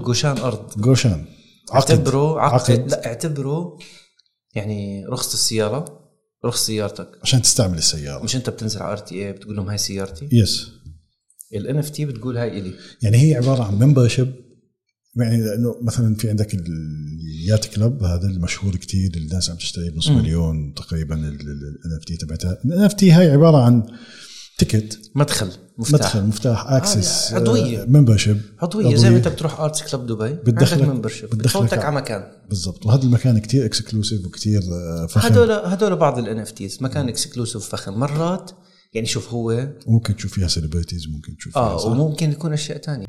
جوشان أرض. جوشان عقد. لا اعتبره يعني رخصة السيارة، رخص سيارتك عشان تستعمل السيارة. مش أنت بتنزل على RTA بتقول لهم هاي سيارتي. يس. ال NFT بتقول هاي إلي. يعني هي عبارة عن ممبرشيب. يعني لأنه مثلا في عندك اليات كلب هذا المشهور كتير، الناس عم تشتري بنص مليون تقريبا NFT تبعتها. NFT هاي عبارة عن تيكت، مفتاح اكسس، عضوية، ممبرشيب عضوية زي ما انت بتروح آرتس كلب دبي عندك ممبرشيب بتفوتك على مكان. بالضبط. وهذا المكان كتير اكسكلوسيف وكتير فخم. هدول بعض ال NFTs مكان اكسكلوسيف فخم مرات. يعني شوف هو ممكن تشوف فيها سيلبرتيز، ممكن تشوف فيها وممكن يكون أشياء تانية.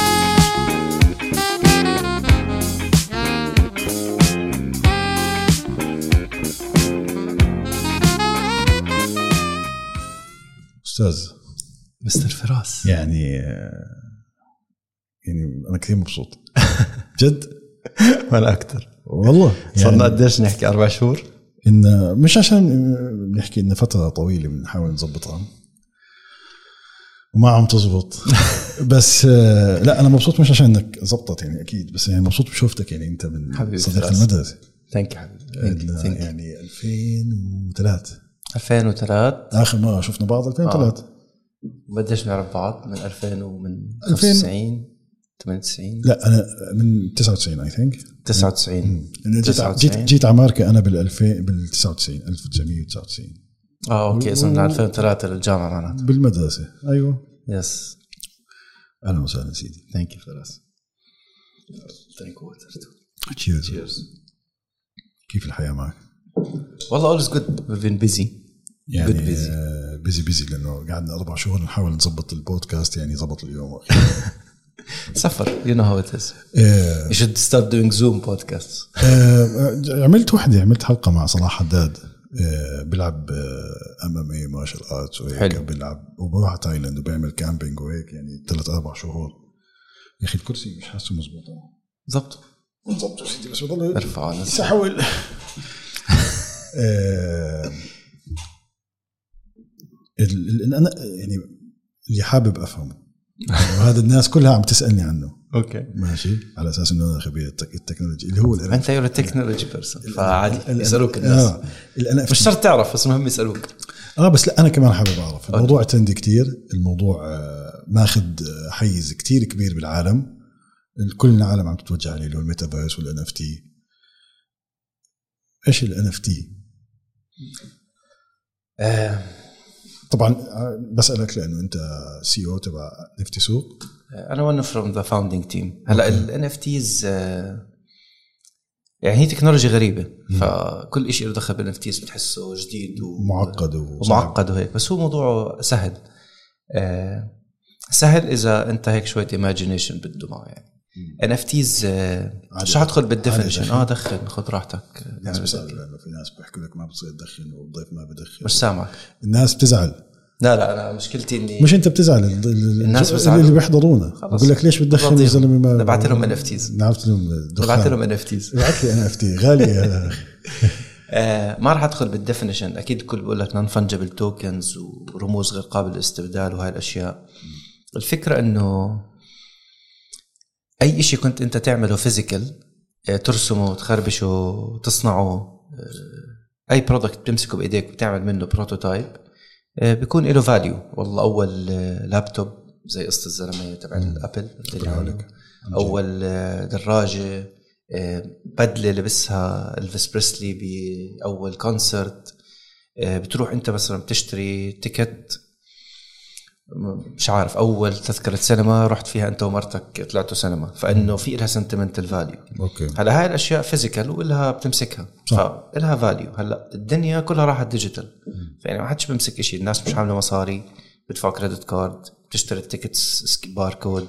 أستاذ مستر فراس، يعني أنا كثير مبسوط جد. وأنا أكتر والله. صرنا قديش نحكي 4 شهور، إن مش عشان نحكي إن فترة طويلة بنحاول نضبطها وما عم تزبط بس لا أنا مبسوط مش عشان إنك زبطت يعني أكيد، بس يعني مبسوط بشوفتك. يعني أنت من صديق المدرسة. ثانك يو. يعني 2003 آخر مرة شفنا بعض 2003. بديش نعرف بعض من 2000 ومن 95 98. لا أنا من 99 I think 99. جيت على ماركة أنا بال99 1999. أوكي. إذن 2003 للجامعة معناته بالمدرسة. أيوة. يس. أهلا وسهلا سيدي. Thank you فراس. Thank you. Cheers. كيف الحياة معك؟ والله all is good. We've been busy. يعني busy لأنه قعدنا 4 شهور نحاول نضبط البودكاست. يعني ضبط اليوم. سفر. You know how it is. You should start doing Zoom podcasts. عملت حلقة مع صلاح حداد. بيلعب MMA مارشال آرتس وهيك. بيلعب وبروح تايلاند وبيعمل كامبينج وهيك. يعني 3-4 شهور. يا أخي الكرسي مش حاسه مزبوط. ضبط سيدي بس بضل ارفع يسحول. أنا يعني اللي حابب أفهمه وهذا الناس كلها عم تسألني عنه. أوكي ماشي. على أساس إنه أنا خبير التكنولوجيا اللي هو أنت يور تكنولوجي بيرسون فعادي يسألوك الناس. مش شرط تعرف بس مهم يسألوك. بس لا أنا كمان حابب أعرف. الموضوع ترندي كتير. الموضوع ماخد حيز كتير كبير بالعالم. كل العالم عم تتوجه عليه اللي هو الميتافيرس والNFT. إيش الNFT؟ طبعا بسألك لأنه أنت CEO تبع NFT سوق. أنا one from the founding team. هلا ال NFTs يعني هي تكنولوجيا غريبة. فكل إشي له دخل بال NFTs بتحسه جديد ومعقد وهيك. بس هو موضوعه سهل إذا أنت هيك شوية imagination بده معه. يعني NFTs مش هدخل بالديفينيشن. دخل خد راحتك. الناس بيسألوا لأنه في ناس بيحكوا لك ما بتصير تدخن والضيف ما بدخن. مش سامعك. الناس بتزعل. لا أنا مشكلتي إني مش أنت بتزعل. الناس اللي بيحضرونا بقول لك ليش بتدخن يا زلمة. ما نبعت لهم NFTs. نبعت لهم NFTs. ابعت لي NFT غالية. ما راح أدخل بالديفينيشن. أكيد كل بقول لك non-fungible tokens ورموز غير قابل للاستبدال وهاي الأشياء. الفكرة إنه أي إشي كنت أنت تعمله فيزيكال، ترسمه تخربشه تصنعه، أي برودكت بتمسكه بإيديك وتعمل منه بروتوتايب بيكون له فاليو. والله أول لابتوب زي قصة الزلمة تبع الأبل، أول دراجة، بدلة لبسها إلفيس بريسلي بأول كونسرت. بتروح أنت مثلا بتشتري تيكت، مش عارف أول تذكرة سينما رحت فيها أنت ومرتك طلعتوا سينما، فإنه في إلها sentimental value. هلا هاي الأشياء فيزيكال وإلها بتمسكها فإلها فاليو. هلا الدنيا كلها راحت ديجيتال. يعني ما حدش بمسك إشي. الناس مش عاملة مصاري، بدفع كريدت كارد، بتشتري التيكتس باركود،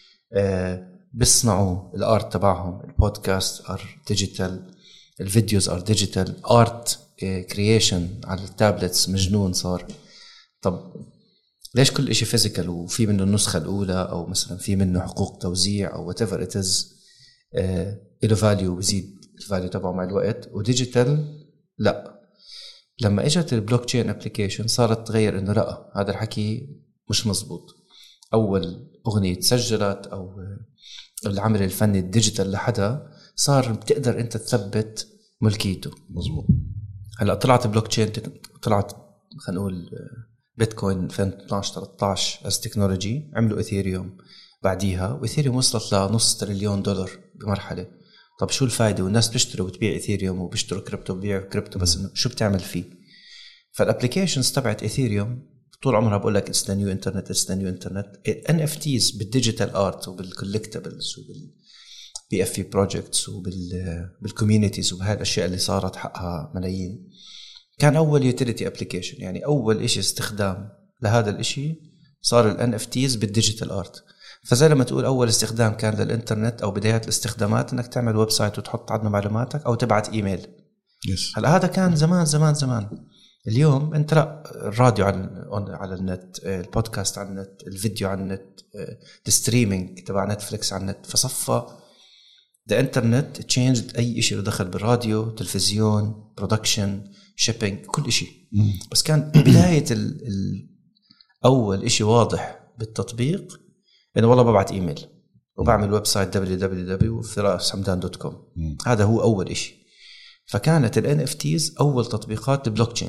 بيصنعوا الارت تبعهم. البودكاست ار ديجيتال، الفيديوز ار ديجيتال، ارت كرييشن على التابلتس مجنون صار. طب ليش كل إشي فيزيكال وفي منه النسخة الأولى أو مثلا في منه حقوق توزيع أو whatever it is إله فاليو بيزيد الفاليو تبعه مع الوقت، وديجيتال لا. لما اجت البلوك تشين ابليكيشن صارت تغير إنه لا هذا الحكي مش مزبوط. أول أغنية سجلت أو العمل الفني الديجيتال لحدا صار بتقدر انت تثبت ملكيته. مزبوط. هلا طلعت بلوك تشين، طلعت خلينا نقول بيتكوين 2012-13 از تكنولوجي، عملوا ايثيريوم بعديها، وايثيريوم وصلت لنص تريليون دولار بمرحله. طب شو الفائده؟ والناس بيشتروا وبتبيع ايثيريوم وبيشتروا كريبتو وبيبيعوا كريبتو، بس انه شو بتعمل فيه؟ فالابليكيشنز تبعت ايثيريوم طول عمرها بقول لك اتس ذا نيو انترنت، اتس ذا نيو انترنت. ان اف تيز بالديجيتال ارت وبالكولكتبلز وبالبي اف في بروجكتس وبالكوميونيتيز وبهاي الاشياء اللي صارت حقها ملايين، كان اول يوتيليتي ابليكيشن. يعني اول إشي استخدام لهذا الإشي صار ال NFTs بالديجيتال ارت. فزي لما تقول اول استخدام كان للانترنت او بدايات الاستخدامات انك تعمل ويب سايت وتحط عدنا معلوماتك او تبعت ايميل. هلا هذا كان زمان زمان زمان. اليوم انت لا، الراديو على النت، البودكاست على النت، الفيديو على النت، الستريمينج تبع نتفليكس على النت. فصفى the internet changed اي شيء له دخل بالراديو، تلفزيون، برودكشن، شيبينج، كل شيء. بس كان بداية أول إشي واضح بالتطبيق إنه والله ببعت إيميل وبعمل ويب سايت www.firashamdan.com. هذا هو أول إشي. فكانت ال NFTs أول تطبيقات البلوك تشين.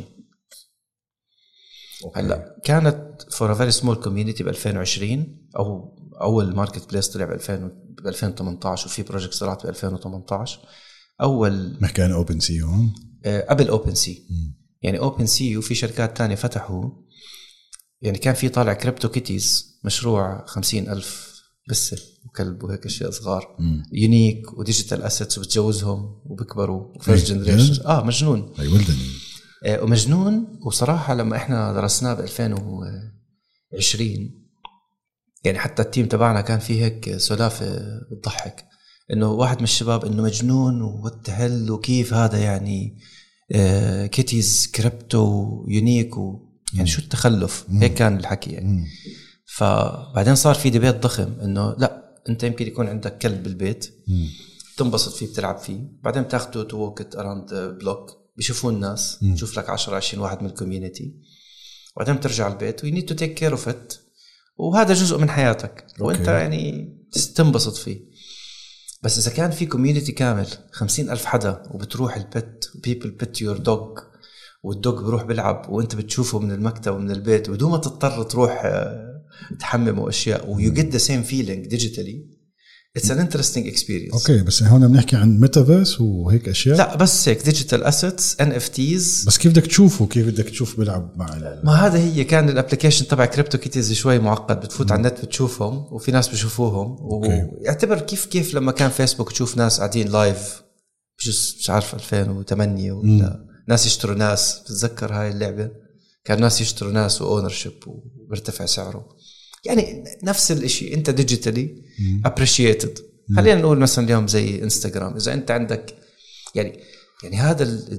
هلا كانت for a very small community ب 2020 أو أول ماركت بليس طلع ب 2018 وفي بروجكت طلعت ب 2018. أول ما كان أوبن سي هون قبل اوبن سي. يعني اوبن سي وفي شركات تانية فتحوا. يعني كان في طالع كريبتو كيتيز، مشروع 50,000 بس وكلب وهيك اشياء صغار، يونيك وديجيتال اسيتس وبتجوزهم وبكبروا وفيرست جنريشن. مجنون. اي ولدني ومجنون. وصراحة لما احنا درسناه ب 2020 يعني حتى التيم تبعنا كان فيه هيك سلافة بتضحك، انه واحد من الشباب انه مجنون وتهل وكيف هذا يعني كيتيز كريبتو يونيك يعني شو التخلف. هيك كان الحكي يعني. فبعدين صار في ديبيت ضخم انه لا، انت يمكن يكون عندك كلب بالبيت تنبسط فيه بتلعب فيه، بعدين تاخده تو ووك اراوند بلوك، بيشوفوا الناس، تشوف لك 10-20 واحد من الكوميونتي، وبعدين بترجع البيت ويو نيد تو تيك كير اوف ات، وهذا جزء من حياتك وانت يعني تنبسط فيه. بس إذا كان في كوميونيتي كامل 50,000 حدا وبتروح البت people pet your dog والدوج بروح بلعب وانت بتشوفه من المكتب ومن البيت بدون ما تضطر تروح تحمم أشياء و you get the same feeling digitally, it's an interesting experience. اوكي بس هون بنحكي عن ميتافيرس وهيك اشياء. لا بس هيك ديجيتال اسيتس NFTs. بس كيف بدك تشوفه؟ كيف بدك تشوف بلعب مع ما هذا هي كان الابلكيشن تبع كريبتو كيتيز شوي معقد. بتفوت على النت بتشوفهم وفي ناس بيشوفوهم ويعتبر كيف لما كان فيسبوك تشوف ناس قاعدين لايف مش عارف 2008 ولا ناس يشتروا ناس. بتذكر هاي اللعبة كان ناس يشتروا ناس وأونرشيب وبرتفع سعره. يعني نفس الاشي انت ديجيتالي appreciated. خلينا نقول مثلا اليوم زي انستغرام، اذا انت عندك يعني هذا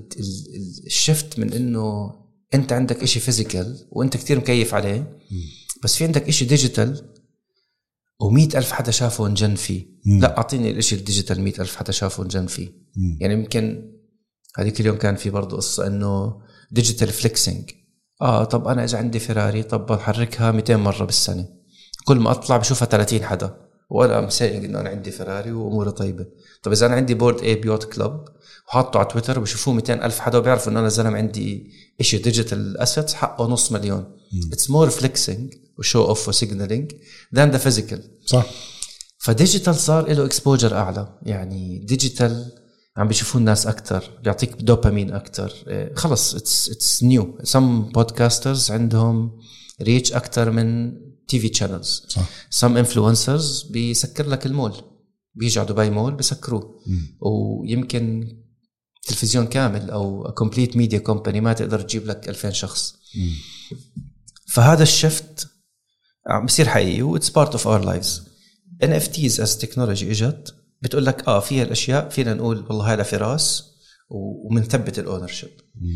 الشفت من انه انت عندك اشي فيزيكال وانت كتير مكيف عليه، بس في عندك اشي ديجيتال و100,000 حدا شافه ونجن فيه. لا اعطيني الاشي الديجيتال 100,000 حدا شافه ونجن فيه. يعني يمكن هذيك اليوم كان في برضو قصة انه ديجيتال فليكسينج. طب انا اذا عندي فيراري طب بحركها 200 مرة بالسنة، كل ما اطلع بشوفها 30 حدا وانا مسايق انه انا عندي فيراري واموري طيبة. طب اذا انا عندي بورد اي بيوت كلب وحاطه على تويتر وبشوفوه 200,000 حدا وبيعرفوا انه انا زلمة عندي اشي ديجيتال اسيتس حقه 500,000. it's more flexing وشو اوف وسيجنالينج than the physical. صح. فديجيتال صار له اكسبوجر اعلى. يعني ديجيتال عم بيشوفوا الناس أكتر، بيعطيك دوبامين أكتر. خلص it's new. some podcasters عندهم reach أكتر من TV channels. صح. some influencers بيسكر لك المول، بيجي على دبي مول بيسكروه. ويمكن تلفزيون كامل أو complete media company ما تقدر تجيب لك 2000 شخص. فهذا الشفت عم بيصير حقيقي و it's part of our lives. NFTs as technology إجت بتقول لك فيها الاشياء فينا نقول والله هذا فراس ومنثبت الاونرشيب.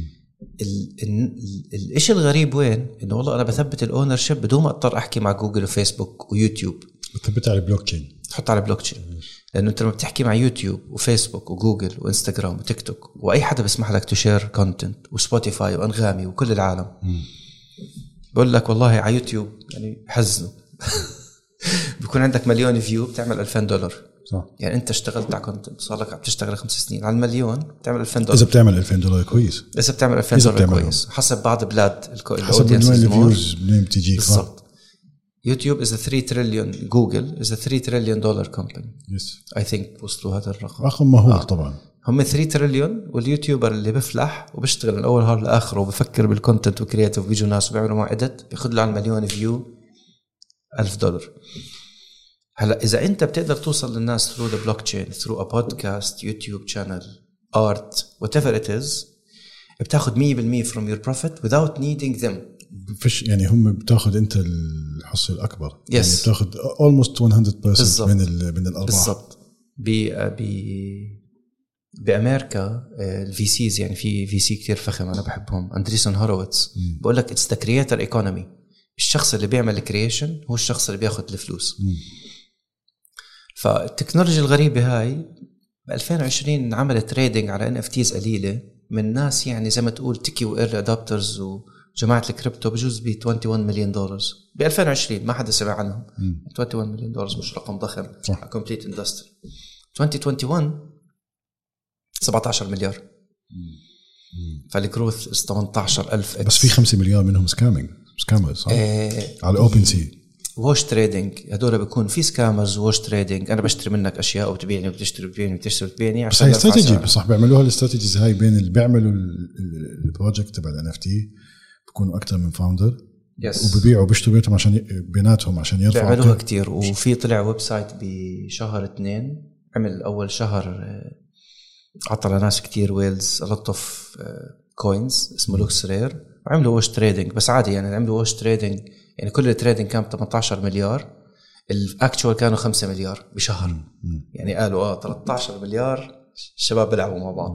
الاشي الغريب وين انه والله انا بثبت الاونرشيب بدون ما اضطر احكي مع جوجل وفيسبوك ويوتيوب. بتثبت على البلوك تشين، تحط على بلوك تشين. لانه انت لما بتحكي مع يوتيوب وفيسبوك وجوجل وانستغرام وتيك توك واي حدا بيسمح لك تشير كونتنت وسبوتيفاي وانغامي وكل العالم بقول لك والله على يوتيوب يعني حزنوا بيكون عندك 1,000,000 فيو بتعمل $2,000. صح. يعني انت اشتغلت على كونتنت صار لك عم تشتغل 5 سنين على $1,000,000 تعمل $2,000. اذا بتعمل $2,000 كويس، اذا بتعمل $2,000 كويس حسب بعض بلاد حسب الفيوز منين بتجيك. بالضبط. يوتيوب is a 3 trillion، جوجل is a $3 trillion company. yes. I think وصلوا هذا الرقم. رقم مهول طبعا. هم 3 تريليون، واليوتيوبر اللي بفلح وبيشتغل من اول نهار لاخره وبفكر بالكونتنت وكرياتيف بيجوا ناس وبيعملوا معه اديت بياخذ له على 1,000,000 فيو $1,000. هلا اذا انت بتقدر توصل للناس through the blockchain through a podcast YouTube channel art whatever it is بتاخذ 100% from your profit without needing them. فيش يعني هم بتاخذ انت الحصة الأكبر. yes. يعني بتاخذ almost 100% من الأرباح. بالضبط. بأمريكا الفي سيز يعني في سي كتير فخم أنا بحبهم، أندريسون هورويتس، بقول لك it's the creator economy. الشخص اللي بيعمل الكرييشن هو الشخص اللي بياخد الفلوس. فالتكنولوجيا الغريبة هاي ب 2020 عملت تريدينج على NFTs قليلة من ناس يعني زي ما تقول تيكي وإيرلي أدابترز وجماعة الكريبتو بجوز ب $21 مليون ب 2020 ما حدا سمع عنهم. $21 مليون مش رقم ضخم. كومبليت اندستري. 2021 17 مليار. فالجروث 18,000 بس في 5 مليار منهم سكامرز صح؟ على اوبن سي ووش تريدينج. هدول بيكون في سكامرز ووش تريدينج. انا بشتري منك اشياء وبتبيعني وبتشتري وبتبيعني وبتشتري وبتبيعني. بس هي استراتيجي صح بيعملوها الاستراتيجيز هاي بين اللي بيعملوا البروجكت تبع NFT بيكونوا اكثر من فاوندر وبيبيعوا وبيشتروا بيناتهم عشان يرفعوا. بيعملوها كتير. وفي طلع ويب سايت بشهر 2 عمل اول شهر عطى لناس كتير ويلز a lot of coins اسمه لوكس رير وعملوا ووش تريدينج. بس عادي يعني عملوا ووش تريدينج يعني كل التريدينج كان 18 مليار الاكتوال كانوا 5 مليار بشهر. يعني قالوا 13 مليار الشباب بيلعبوا مع بعض.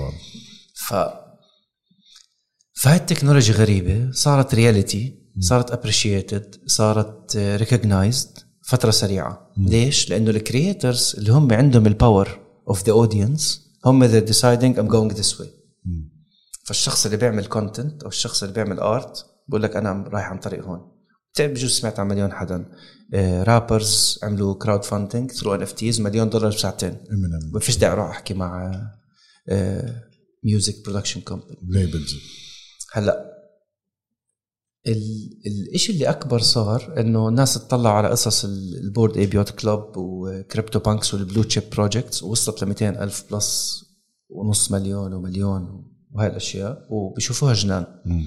فهاي التكنولوجيا غريبة صارت رياليتي صارت appreciated صارت recognized فترة سريعة. ليش؟ لأنه الكرياترز اللي هم عندهم الباور of the audience هم they're deciding I'm going this way. فالشخص اللي بيعمل content أو الشخص اللي بيعمل art بقول لك أنا رايح عن طريق هون. بجوز سمعت عن مليون حدا رابرز عملوا crowd funding through NFTs $1,000,000 بساعتين. ما فيش داعي أروح أحكي مع music production company labels. هلا الاشي اللي اكبر صار انه الناس تطلع على قصص البورد اي بيوت كلوب وكريبتو بانكس والبلو تشيب بروجكتس ووصلت ل200,000 بلس ونص مليون ومليون وهاي الاشياء وبيشوفوها جنان.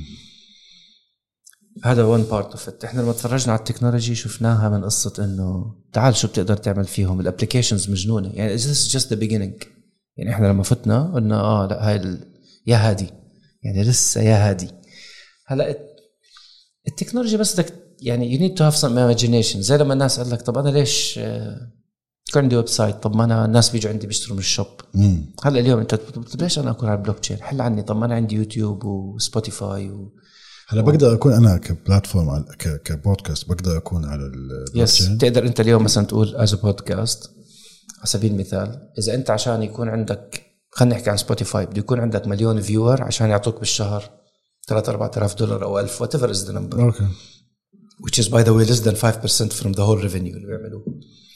هذا one part of it. احنا لما تفرجنا على التكنولوجي شفناها من قصة انه تعال شو بتقدر تعمل فيهم. الابليكيشنز مجنونة يعني this is just the beginning. يعني احنا لما فتنا قلنا لا هاي يا هادي يعني لسه يا هادي. هلا التكنولوجيا بس بدك يعني you need to have some imagination. زي لما الناس قال لك طب أنا ليش كان عندي ويب سايت طب ما أنا الناس بيجوا عندي بيشتروا من الشوب. هلا اليوم أنت ليش أنا أكون على البلوك تشين حل عني طب ما أنا عندي يوتيوب وسبوتيفاي هلا بقدر أكون أنا كبلاتفورم كبودكاست بقدر أكون على البلوك تشين. تقدر أنت اليوم مثلا تقول as a podcast على سبيل المثال إذا أنت عشان يكون عندك خلينا نحكي عن سبوتيفاي بده يكون عندك 1,000,000 فيور عشان يعطوك بالشهر $3,000-4,000 أو 1,000 whatever is the number. Okay. Which is by the way less than 5% from the whole revenue اللي بيعملوه.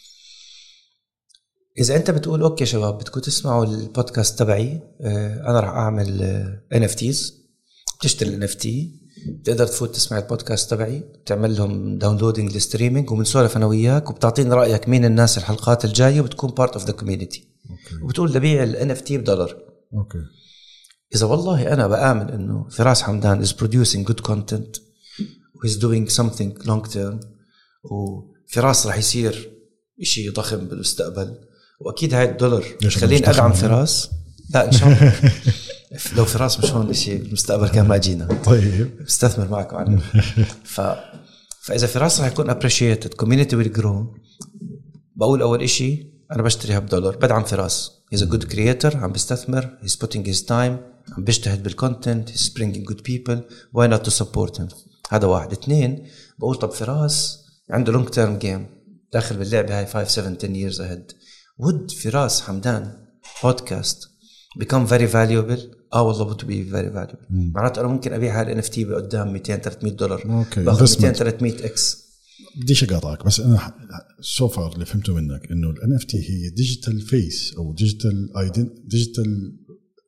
إذا أنت بتقول أوكي شباب بدكم تسمعوا البودكاست تبعي أنا راح أعمل NFTs بتشتري NFT تقدر تفوت تسمع البودكاست تبعي تعمل لهم داونلودينج للستريمينج وبنسولف أنا وياك وبتعطيني رأيك مين الناس الحلقات الجاية وبتكون part of the community. Okay. وبتقول لبيع NFT $1. Okay. إذا والله أنا بآمن إنه فراس حمدان is producing good content و is doing something long term وفراس راح يصير إشي ضخم بالمستقبل وأكيد هاي $1 خليني أدعم فراس. لا إن شاء الله لو فراس مش هون إشي بالمستقبل كان ما جينا. طيب بستثمر معك عنه. فإذا فراس راح يكون appreciated community will grow. بقول أول إشي أنا بشتريها $1 بدعم فراس. he's a good creator عم بيستثمر he's putting his time عم بيجتهد بالكونتنت he's bringing good people why not to support him. هذا واحد. 2 بقول طب فراس عنده long term game داخل باللعبة هاي 5 7 10 years ahead. would فراس حمدان podcast become very valuable والله would be very valuable. معناته أنا ممكن أبيع هاي NFT بقدام $200-300 باخذ 200-300x بديش اقاطعك بس انا سو فار اللي فهمته منك انه ال NFT هي ديجيتال فيس او ديجيتال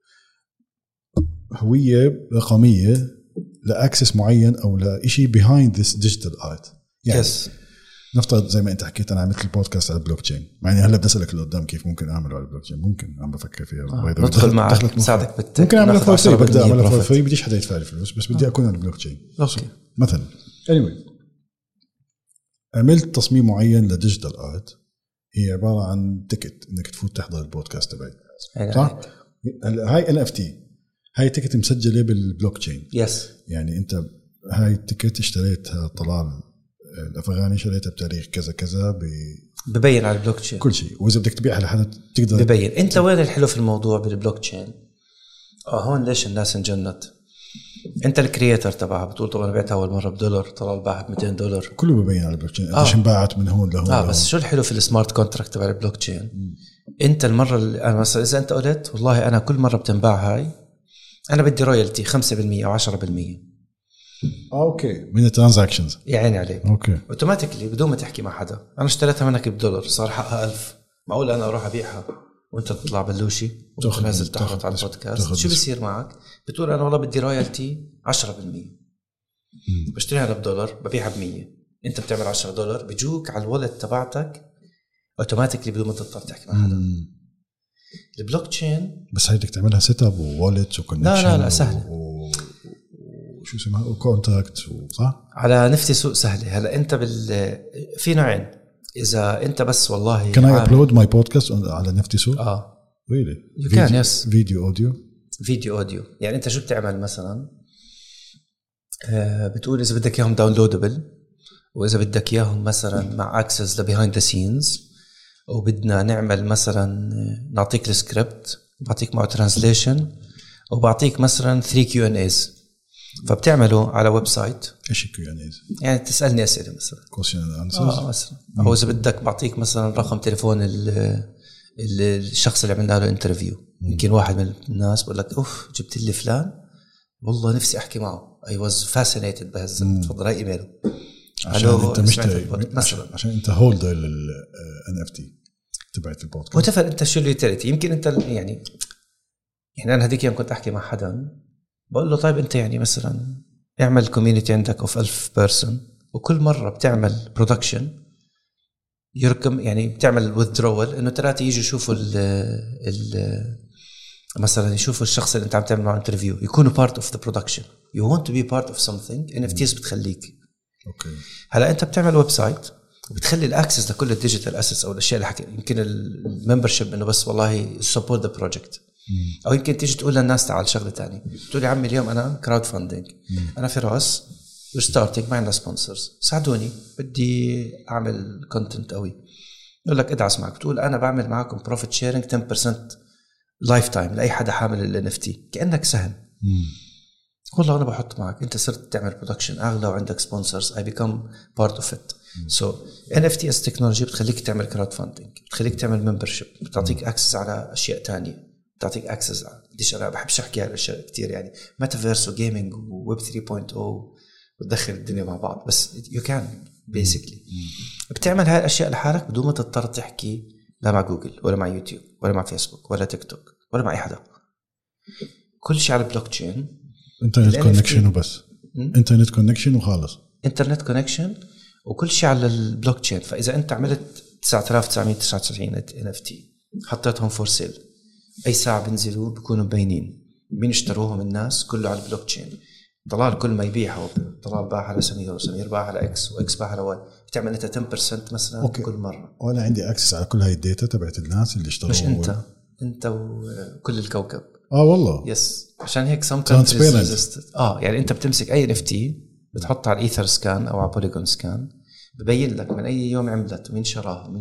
هويه رقميه لاكسس معين او لشيء behind this digital art يعني yes. نفترض زي ما انت حكيت انا عملت البودكاست على البلوك تشين يعني هلا بدي اسالك اللي قدام كيف ممكن اعمله على البلوك تشين ممكن عم بفكر فيها ندخل معك نساعدك ممكن اعملها فور فري بدي اعملها فور فري بديش حدا يدفع لي فلوس بس بدي اكون على البلوك تشين مثلا anyway عملت تصميم معين لديجيتال ارت هي عباره عن تيكت انك تفوت تحضر البودكاست تبعي صح هاي NFT هاي تيكت مسجله بالبلوك تشين يس يعني انت هاي التيكت اشتريتها طلال الافغاني شريتها بتاريخ كذا كذا ببين على البلوك تشين كل شيء واذا بدك تبيعها لحدا تقدر ببين انت وين الحلو في الموضوع بالبلوك تشين هون ليش الناس انجنت انت الكرياتور تبعها بتقول طبعا بعتها اول مره $1 طلال باعها $200 كله ببين على البلوك تشين ايش انباعت من هون لهون بس شو الحلو في السمارت كونتراكت تبع البلوك تشين انت المره اللي انا مثلا اذا انت قلت والله انا كل مره بتنباع هاي انا بدي رويالتي 5% او 10% اوكي من الترانزاكشنز يعني عليك اوكي اوتوماتيكلي بدون ما تحكي مع حدا انا اشتريتها منك $1 صار حقها 1000 معقول انا اروح ابيعها وانت تطلع بلوشي وتنزل تحرط على البودكاست شو بيصير معك بتقول انا والله بدي رويالتي 10% بشتريها $1 ببيعها ب100 انت بتعمل $10 بيجوك على الوالت تبعتك اوتوماتيكلي بدون ما تضطر تحكي مع حدا البلوك تشين بس هي بدك تعملها سيت اب ووالت وكونكشن لا سهل شو اسمها وكونتاكت صح على نفتي سوق سهله هلا انت في نوعين اذا انت بس والله can I upload my podcast على نفتي سوق really you can yes فيديو اوديو يعني انت شو بتعمل مثلا بتقول اذا بدك اياهم داونلودبل واذا بدك اياهم مثلا مع اكسس لبيهايند ذا سينز وبدنا نعمل مثلا نعطيك السكريبت بعطيك معه ترانسليشن وبعطيك مثلا 3 Q&A's فبتعمله على ويب سايت ايش Q&A's يعني تسالني اسئله مثلا question and answers مثلا او اذا بدك بعطيك مثلا رقم تليفون الشخص اللي عملنا له انترفيو يمكن واحد من الناس بقول لك اوف جبت لي فلان والله نفسي احكي معه I was fascinated بهالزلمه تفضل هاي ايميله عشان انت مثلا عشان انت هولدر لل NFT تبعت البودكاست وتفر انت شو اليوتيليتي يمكن انت يعني انا هديك يوم كنت احكي مع حدا بقول له طيب انت يعني مثلا اعمل كوميونيتي عندك اوف 1000 بيرسون وكل مره بتعمل برودكشن يركم يعني بتعمل withdrawal انه ثلاثه يجوا يشوفوا مثلا يشوفوا الشخص اللي انت عم تعمل معه انترفيو يكونوا part of the production you want to be part of something NFTs بتخليك اوكي هلا انت بتعمل ويب سايت وبتخلي الاكسس لكل الديجيتال اسيتس او الاشياء اللي حكي يمكن الممبرشيب انه بس والله support the project او يمكن تيجي تقول للناس تعال شغله ثانيه تقول يا عمي اليوم انا كراود فاندنج انا فراس ستارتنج ما عندنا سبونسرز ساعدوني بدي اعمل كونتنت قوي يقول لك ادعس معك بتقول انا بعمل معكم بروفيت شيرنج 10% لايف تايم لاي حدا حامل ال NFT كانك سهم والله انا بحط معك انت صرت تعمل برودكشن اغلى وعندك سبونسرز I become part of it so NFT as تكنولوجي بتخليك تعمل كراود فاندنج بتخليك تعمل ممبرشيب بتعطيك اكسس على اشياء تانية بتعطيك اكسس ليش انا بحبش احكي على الاشياء كتير يعني ميتافيرس وجيمنج وويب 3.0 بتدخل الدنيا مع بعض بس you can basically بتعمل هاي الاشياء لحالك بدون ما تضطر تحكي لا مع جوجل ولا مع يوتيوب ولا مع فيسبوك ولا تيك توك ولا مع اي حدا كل شيء على البلوك تشين انترنت كونكشن وبس انترنت كونكشن وخالص انترنت كونكشن وكل شيء على البلوك تشين فاذا انت عملت 9999 NFT حطيتهم فور سيل اي ساعه بينزلوا بيكونوا مبينين مين اشتروهم الناس كله على البلوك تشين ضلال كل ما يبيعها ضلال باع على سمير وسمير باع على اكس واكس باع على واي بتعمل انت 10% مثلا أوكي. كل مره وانا عندي اكسس على كل هاي الداتا تبعت الناس اللي اشتروا مش انت وكل الكوكب والله يس عشان هيك some countries يعني انت بتمسك اي NFT بتحطها على الايثر سكان او على بوليجون سكان ببين لك من اي يوم عملت مين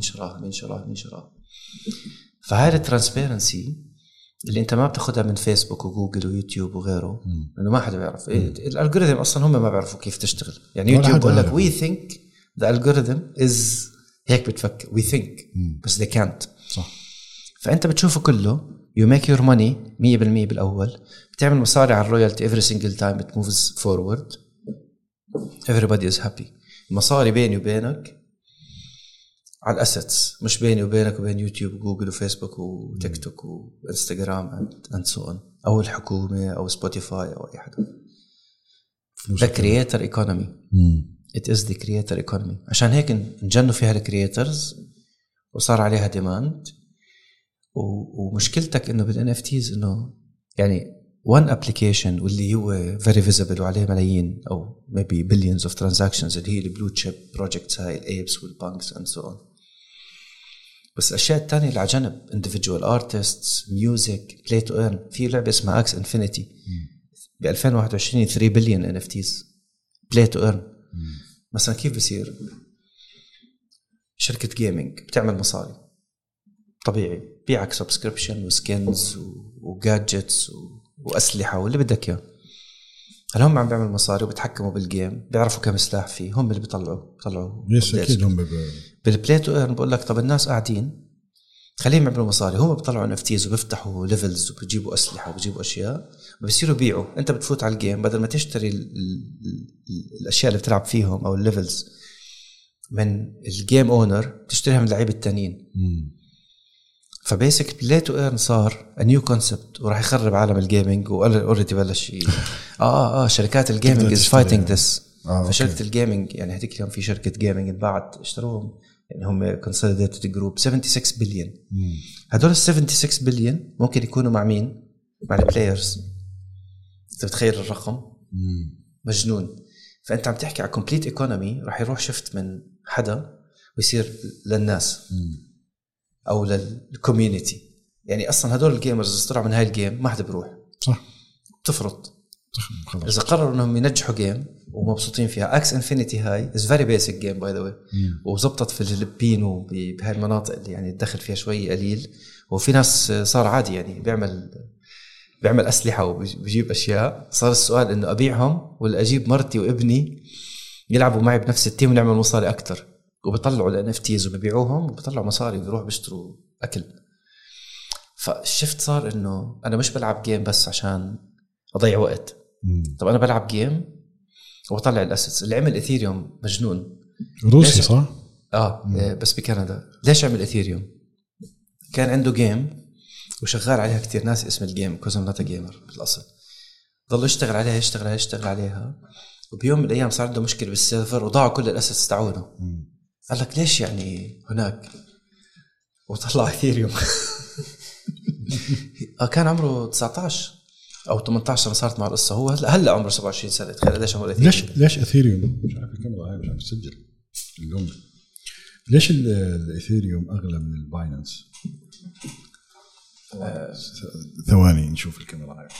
شراها فهاي الترانسبيرنسي اللي انت ما بتاخدها من فيسبوك وجوجل ويوتيوب وغيره انه ما حدا بيعرف الالجوريثم اصلا هم ما بيعرفوا كيف تشتغل يعني يوتيوب بقول لك we think the algorithm is هيك بتفكر we think بس they can't صح فانت بتشوفه كله you make your money 100% بالاول بتعمل مصاري على الرويالتي every single time it moves forward everybody is happy المصاري بيني وبينك على الاسيتس، مش بيني وبينك وبين يوتيوب وجوجل وفيسبوك وتيك توك وانستغرام اند سو اون، او الحكومه او سبوتيفاي او اي حدا. The creator economy. It is the creator economy. عشان هيك نجنوا فيها الكرياترز وصار عليها ديماند. ومشكلتك انه بالان اف تيز انه يعني one application واللي هو very visible وعليه ملايين او maybe billions of transactions اللي هي البلو تشيب بروجكتس هاي الايبس والبانكس and so on. بس الاشياء الثانيه اللي على جنب individual artists, music, play to earn. في لعبه اسمها Axie Infinity ب 2021 3 بليون NFTs play to earn. مثلا كيف بصير شركه جيمنج بتعمل مصاري طبيعي، بيعك سبسكريبشن وسكنز وجادجتس واسلحه واللي بدك اياه. هل هم عم بيعملوا مصاري وبتحكموا بالجيم، بيعرفوا كم سلاح فيه، هم اللي بيطلعوا يس اكيد هم بالبلاي تو ايرن. بقول لك طب الناس قاعدين خليهم يعملوا مصاري، هم بيطلعوا نفتيز وبيفتحوا ليفلز وبيجيبوا اسلحه وبيجيبوا اشياء وبيصيروا بيعوا. انت بتفوت على الجيم بدل ما تشتري الاشياء اللي بتلعب فيهم او الليفلز من الجيم اونر، تشتريها من اللعيبه التانيين. فبيسك بلاي تو ايرن صار نيو كونسبت وراح يخرب عالم الجيمنج. واوريدي بلش شركات الجيمنج از فايتنج ذس. فشركه الجيمنج يعني هذيك اليوم في شركه جيمنج انباعت اشتروهم، يعني هم كونسوليديتد جروب 76 بليون. هدول ال 76 بليون ممكن يكونوا مع مين؟ مع البلايرز. انت بتخيل الرقم مجنون. فانت عم تحكي على كومبليت ايكونومي راح يروح شفت من حدا ويصير للناس او للكوميونتي. يعني اصلا هدول الجيمرز اللي طلعوا من هاي الجيم ما حدا بروح، صح؟ بتفرط اذا قرروا انهم ينجحوا جيم ومبسوطين فيها. اكس انفينيتي هاي از فيري بيسك جيم باي ذا واي، وزبطت في الفلبين وبهاي المناطق اللي يعني الدخل فيها شوي قليل. وفي ناس صار عادي يعني بيعمل اسلحه وبيجيب اشياء. صار السؤال انه ابيعهم ولا اجيب مرتي وابني يلعبوا معي بنفس التيم ونعمل مصاري اكتر. وبيطلعوا ال NFTs وبيبيعوهم وبيطلعوا مصاري وبيروحوا بيشتروا أكل. فالشفت صار إنه أنا مش بلعب جيم بس عشان أضيع وقت. طب أنا بلعب جيم وبطلع الأسيتس. اللي عمل إثيريوم مجنون روسي صح؟ بس بكندا. ليش عمل إثيريوم؟ كان عنده جيم وشغال عليها كتير ناس اسم الجيم كوزم ناتا جيمر بالأصل. ضل يشتغل عليها وبيوم من الأيام صار عنده مشكلة بالسيرفر وضاعوا كل الأسيتس تاعونه. قال لك ليش يعني هناك، وطلع إثيريوم. كان عمره 19 أو 18 سنة صارت مع القصة. هو هلا عمره 27 سنة. تخيل ليش عمره إثيريوم. ليش إثيريوم؟ مش عارف الكاميرا هاي مش عم تسجل اللون. ليش الإثيريوم أغلى من الباينانس؟ ثواني نشوف الكاميرا هاي.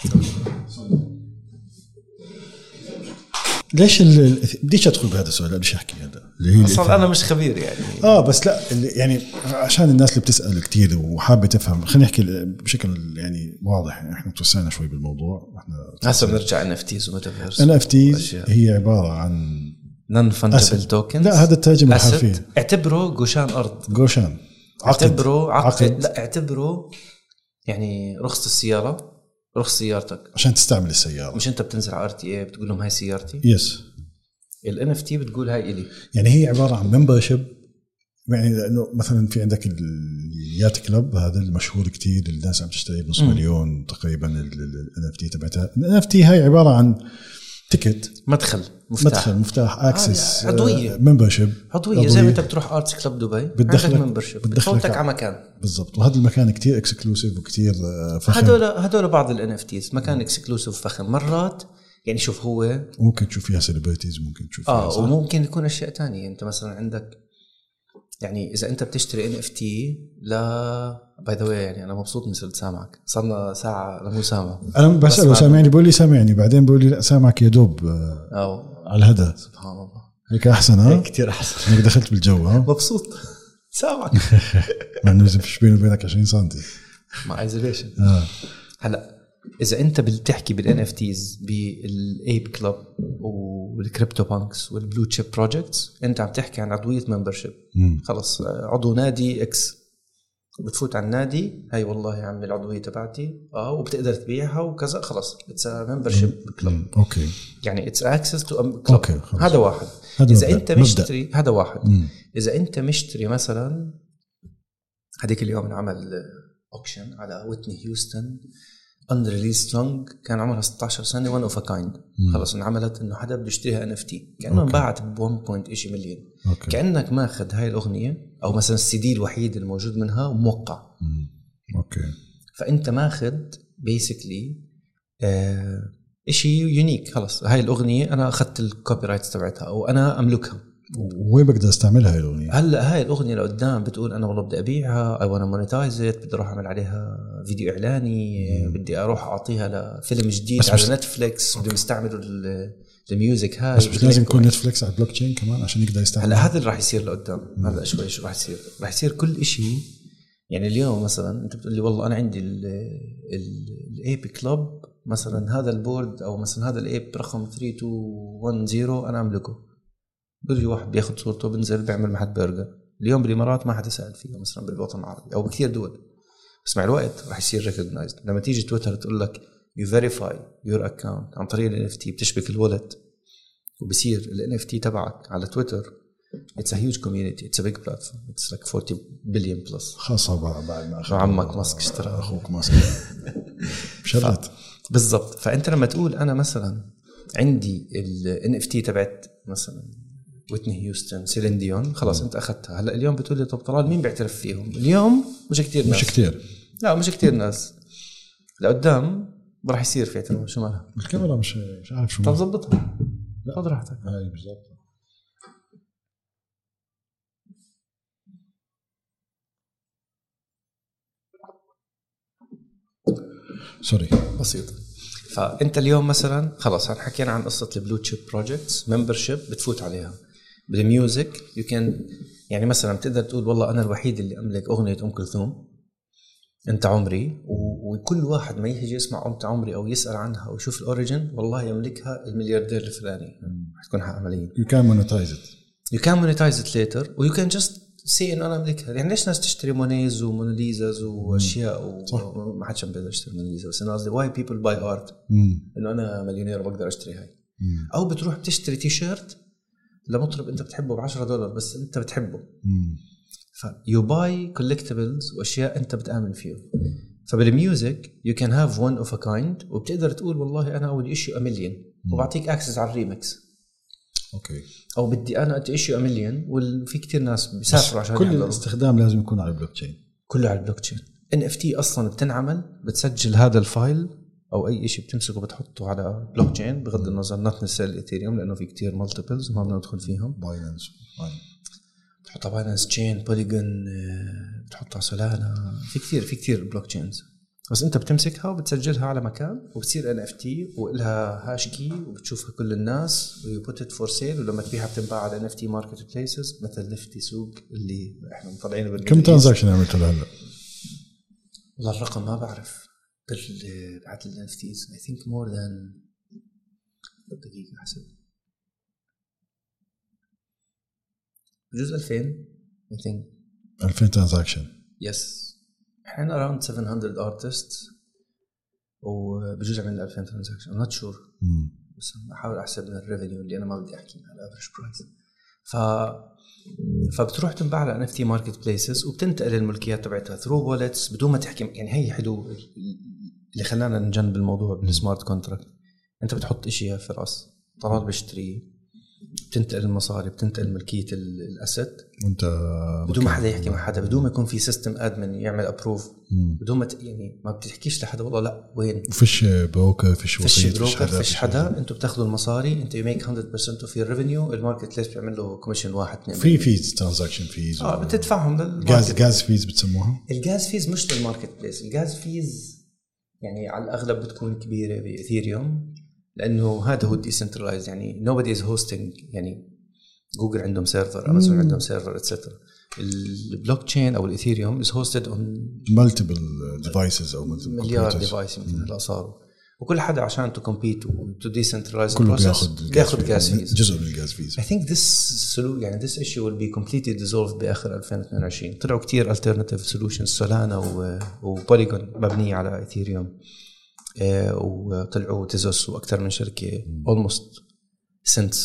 ليش بديش ادخل بهذا السؤال، بديش احكي هذا اللي هي اصلا انا مش خبير يعني. بس لا يعني عشان الناس اللي بتسال كتير وحابه تفهم، خلينا نحكي بشكل يعني واضح. يعني احنا توسعنا شوي بالموضوع. احنا هسه بنرجع NFTs وميتافيرس. NFTs هي عباره عن نون فانجبل توكنز. لا هذا الترجمه الحرفيه. اعتبره جوشان ارض، جوشان عقد. لا اعتبره يعني رخصة السياره، رخص سيارتك عشان تستعمل السيارة. مش انت بتنزل على RTA بتقول لهم هاي سيارتي. يس. ال NFT بتقول هاي إلي. يعني هي عبارة عن ممبرشيب. يعني لأنه مثلا في عندك اليات كلب هذا المشهور كتير، الناس عم تشتري بنص مليون تقريبا ال NFT تبعتها. ال NFT هاي عبارة عن تيكت، مفتاح اكسس، عضوية، ممبرشيب عضوية. زي ما انت بتروح ارتس كلب دبي عندك ممبرشيب بتفوتك على مكان. بالضبط. وهذا المكان كتير اكسكلوسيف وكتير فخم. هدول بعض ال NFTs مكان اكسكلوسيف فخم مرات. يعني شوف هو ممكن تشوف فيها سيلبرتيز، ممكن تشوف فيها وممكن يكون اشياء تانية. انت مثلا عندك يعني اذا انت بتشتري NFT لا باي ذا واي. يعني انا مبسوط اني صرت سامعك، صرنا ساعه لمو سامع. انا بساله سامعني بقول لي سامعني، بعدين بقول لي لا سامعك يا دوب على الهدى. سبحان الله. هيك احسن. هيك كتير احسن. انك دخلت بالجو. مبسوط سامعك. مع انه فيش بيني وبينك 20 سم مع ايزوليشن. هلا اذا انت بتحكي بالNFTs بالايب كلوب والكريبتو بانكس والبلو تشيب بروجكتس، انت عم تحكي عن عضويه ممبرشيب. خلص عضو نادي اكس، بتفوت على النادي هاي والله يا عمي العضويه تبعتي وبتقدر تبيعها وكذا. خلص اتس ممبرشيب كلوب. اوكي. يعني اتس اكسس تو كلوب. هذا واحد. اذا انت مشتري هذا واحد. اذا انت مشتري مثلا هذيك اليوم انعمل اوكشن على ويتني هيوستن unreleased song كان عمرها 16 سنه one of a kind. خلص انعملت انه حدا بده يشتريها NFT كانه انباعت ب 1.8 مليون. كانك ماخذ هاي الاغنيه او مثلا السي دي الوحيد الموجود منها وموقع. اوكي فانت ماخذ بيسكلي اشي يونيك. خلص هاي الاغنيه انا اخذت الكوبي رايتس تبعتها او انا املكها. وين بقدر استعملها هاي الاغنيه؟ هلا هاي الاغنيه لقدام بتقول انا والله بدي ابيعها او انا مونيتايزت بدي اروح اعمل عليها فيديو اعلاني. بدي اروح اعطيها لفيلم جديد على نتفليكس بدهم يستعملوا الميوزك هاي. بس لازم يكون نتفليكس على البلوك تشين كمان عشان يقدر يستعمل. هلا هذا اللي راح يصير لقدام. هلا شوي شو راح يصير. راح يصير كل إشي. يعني اليوم مثلا انت بتقول لي والله انا عندي الايب كلوب مثلا هذا البورد او مثلا هذا الايب رقم 3210 انا املكه. بيجي واحد بياخد صورته بنزل بيعمل محل برجر. اليوم بالامارات ما حدا سأل فيها مثلا بالوطن العربي او بكثير دول. بس مع الوقت راح يصير ريكوجنايزد. لما تيجي تويتر تقول لك you verify your account عن طريق ال NFT بتشبك الوالت وبصير ال NFT تبعك على تويتر. It's a huge community. It's a big platform. It's like 40 billion plus. خاصة بعد ما عمك ماسك اشترى أخوك ماسك بشرط. بالضبط. فأنت لما تقول أنا مثلا عندي ال NFT تبعت مثلا ويتني هيوستن سيلين ديون خلاص أنت أخذتها. هلأ اليوم بتقول لي طب طلال مين بيعترف فيهم؟ اليوم مش كتير ناس. مش كتير. لا مش كتير ناس. لقدام راح يصير في اعتراف. شو مالها؟ الكاميرا مش عارف شو. طب ضبطها. خذ راحتك. هاي بالضبط. سوري بسيط. فأنت اليوم مثلا خلاص حكينا عن قصة البلو تشيب بروجكتس ممبرشيب بتفوت عليها بالميوزك يو كان. يعني مثلا بتقدر تقول والله أنا الوحيد اللي أملك أغنية أم كلثوم أنت عمري. وكل واحد ما يجي يسمع أنت عمري أو يسأل عنها ويشوف الأوريجين والله يملكها الملياردير الفلاني. تكون حق عملية. You can monetize it. You can monetize it later و you can just say إنه أنا أملكها. يعني ليش ناس تشتري مونيز وموناليزاز وأشياء وما حدش بيقدر يشتري موناليزا. بس أنا قصدي why people buy art إنه أنا مليونير وبقدر أشتري هاي. أو بتروح بتشتري تي شيرت لمطرب أنت بتحبه $10 بس أنت بتحبه. you buy collectibles وأشياء أنت بتآمن فيه. فبالميوزك you can have one of a kind وبتقدر تقول والله أنا أول issue $1 مليون وبعطيك access على الريمكس. اوكي. او بدي انا issue $1 مليون وفي كتير ناس بيسافروا عشان كل الاستخدام لازم يكون على البلوك تشين. كله على البلوك تشين. NFT اصلا بتنعمل بتسجل هذا الفايل او اي شيء بتمسكه بتحطه على بلوك تشين بغض النظر نوت نسال الايثيريوم لانه في كتير مالتيبلز ما بدنا ندخل فيهم. باينانس بتحطها باينانس تشين بوليجون بتحطها سولانا في كتير بلوك تشينز. بس انت بتمسكها وبتسجلها على مكان وبتصير NFT وإلها هاش كي وبتشوفها كل الناس ويبوت ات فور سيل. ولما تبيعها بتنباع على NFT ماركت بليسز مثل نفتي سوق اللي احنا مطلعينه بالميدل. كم ترانزاكشن عملتوا هلا؟ والله الرقم ما بعرف بعد ال NFTs I think more than دقيقة حسب بجوز 2000 I think 2000 ترانزاكشن. yes. احنا around 700 artists وبجوز عملنا 2000 transaction. I'm not sure. بس بحاول احسب من الريفينيو اللي انا ما بدي احكي على الافريج برايس. فبتروح تنباع على NFT ماركت بليسز وبتنتقل الملكيات تبعتها ثرو وولتس بدون ما تحكي. يعني هي حلو اللي خلانا نجنب الموضوع بالسمارت كونتراكت. انت بتحط اشياء في راس طلال بيشتري بتنتقل المصاري بتنتقل ملكية الأسد وانت بدون ما حدا يحكي مع حدا بدون ما يكون في سيستم أدمن يعمل أبروف بدون ما يعني ما بتحكيش لحدا والله لا وين فيش بروكر فيش وسيط فيش حدا. انتوا بتاخذوا المصاري انت يميك 100% of your revenue. الماركت ليس بيعمل له كوميشن 1-2 في فيز ترانزاكشن فيز بتدفعهم جاز فيز بتسموها. الجاز فيز مش للماركت بليس. الجاز فيز يعني على الأغلب بتكون كبيرة بإثيريوم لأنه هذا هو ديسنترلايز. يعني nobody is hosting. يعني جوجل عندهم سيرفر أمازون عندهم سيرفر etc. البلوك تشين أو الإثيريوم is hosted on multiple devices أو مليار device مثل هلا صاروا. وكل حدا عشان to compete to decentralize كله بياخد gas fees. جزء من الجاز fees. I think this issue will be completely dissolved بآخر 2022. طلعوا كتير alternative solutions سولانا وبوليجون مبنية على إثيريوم وطلعوا تيزوس وأكثر من شركة almost since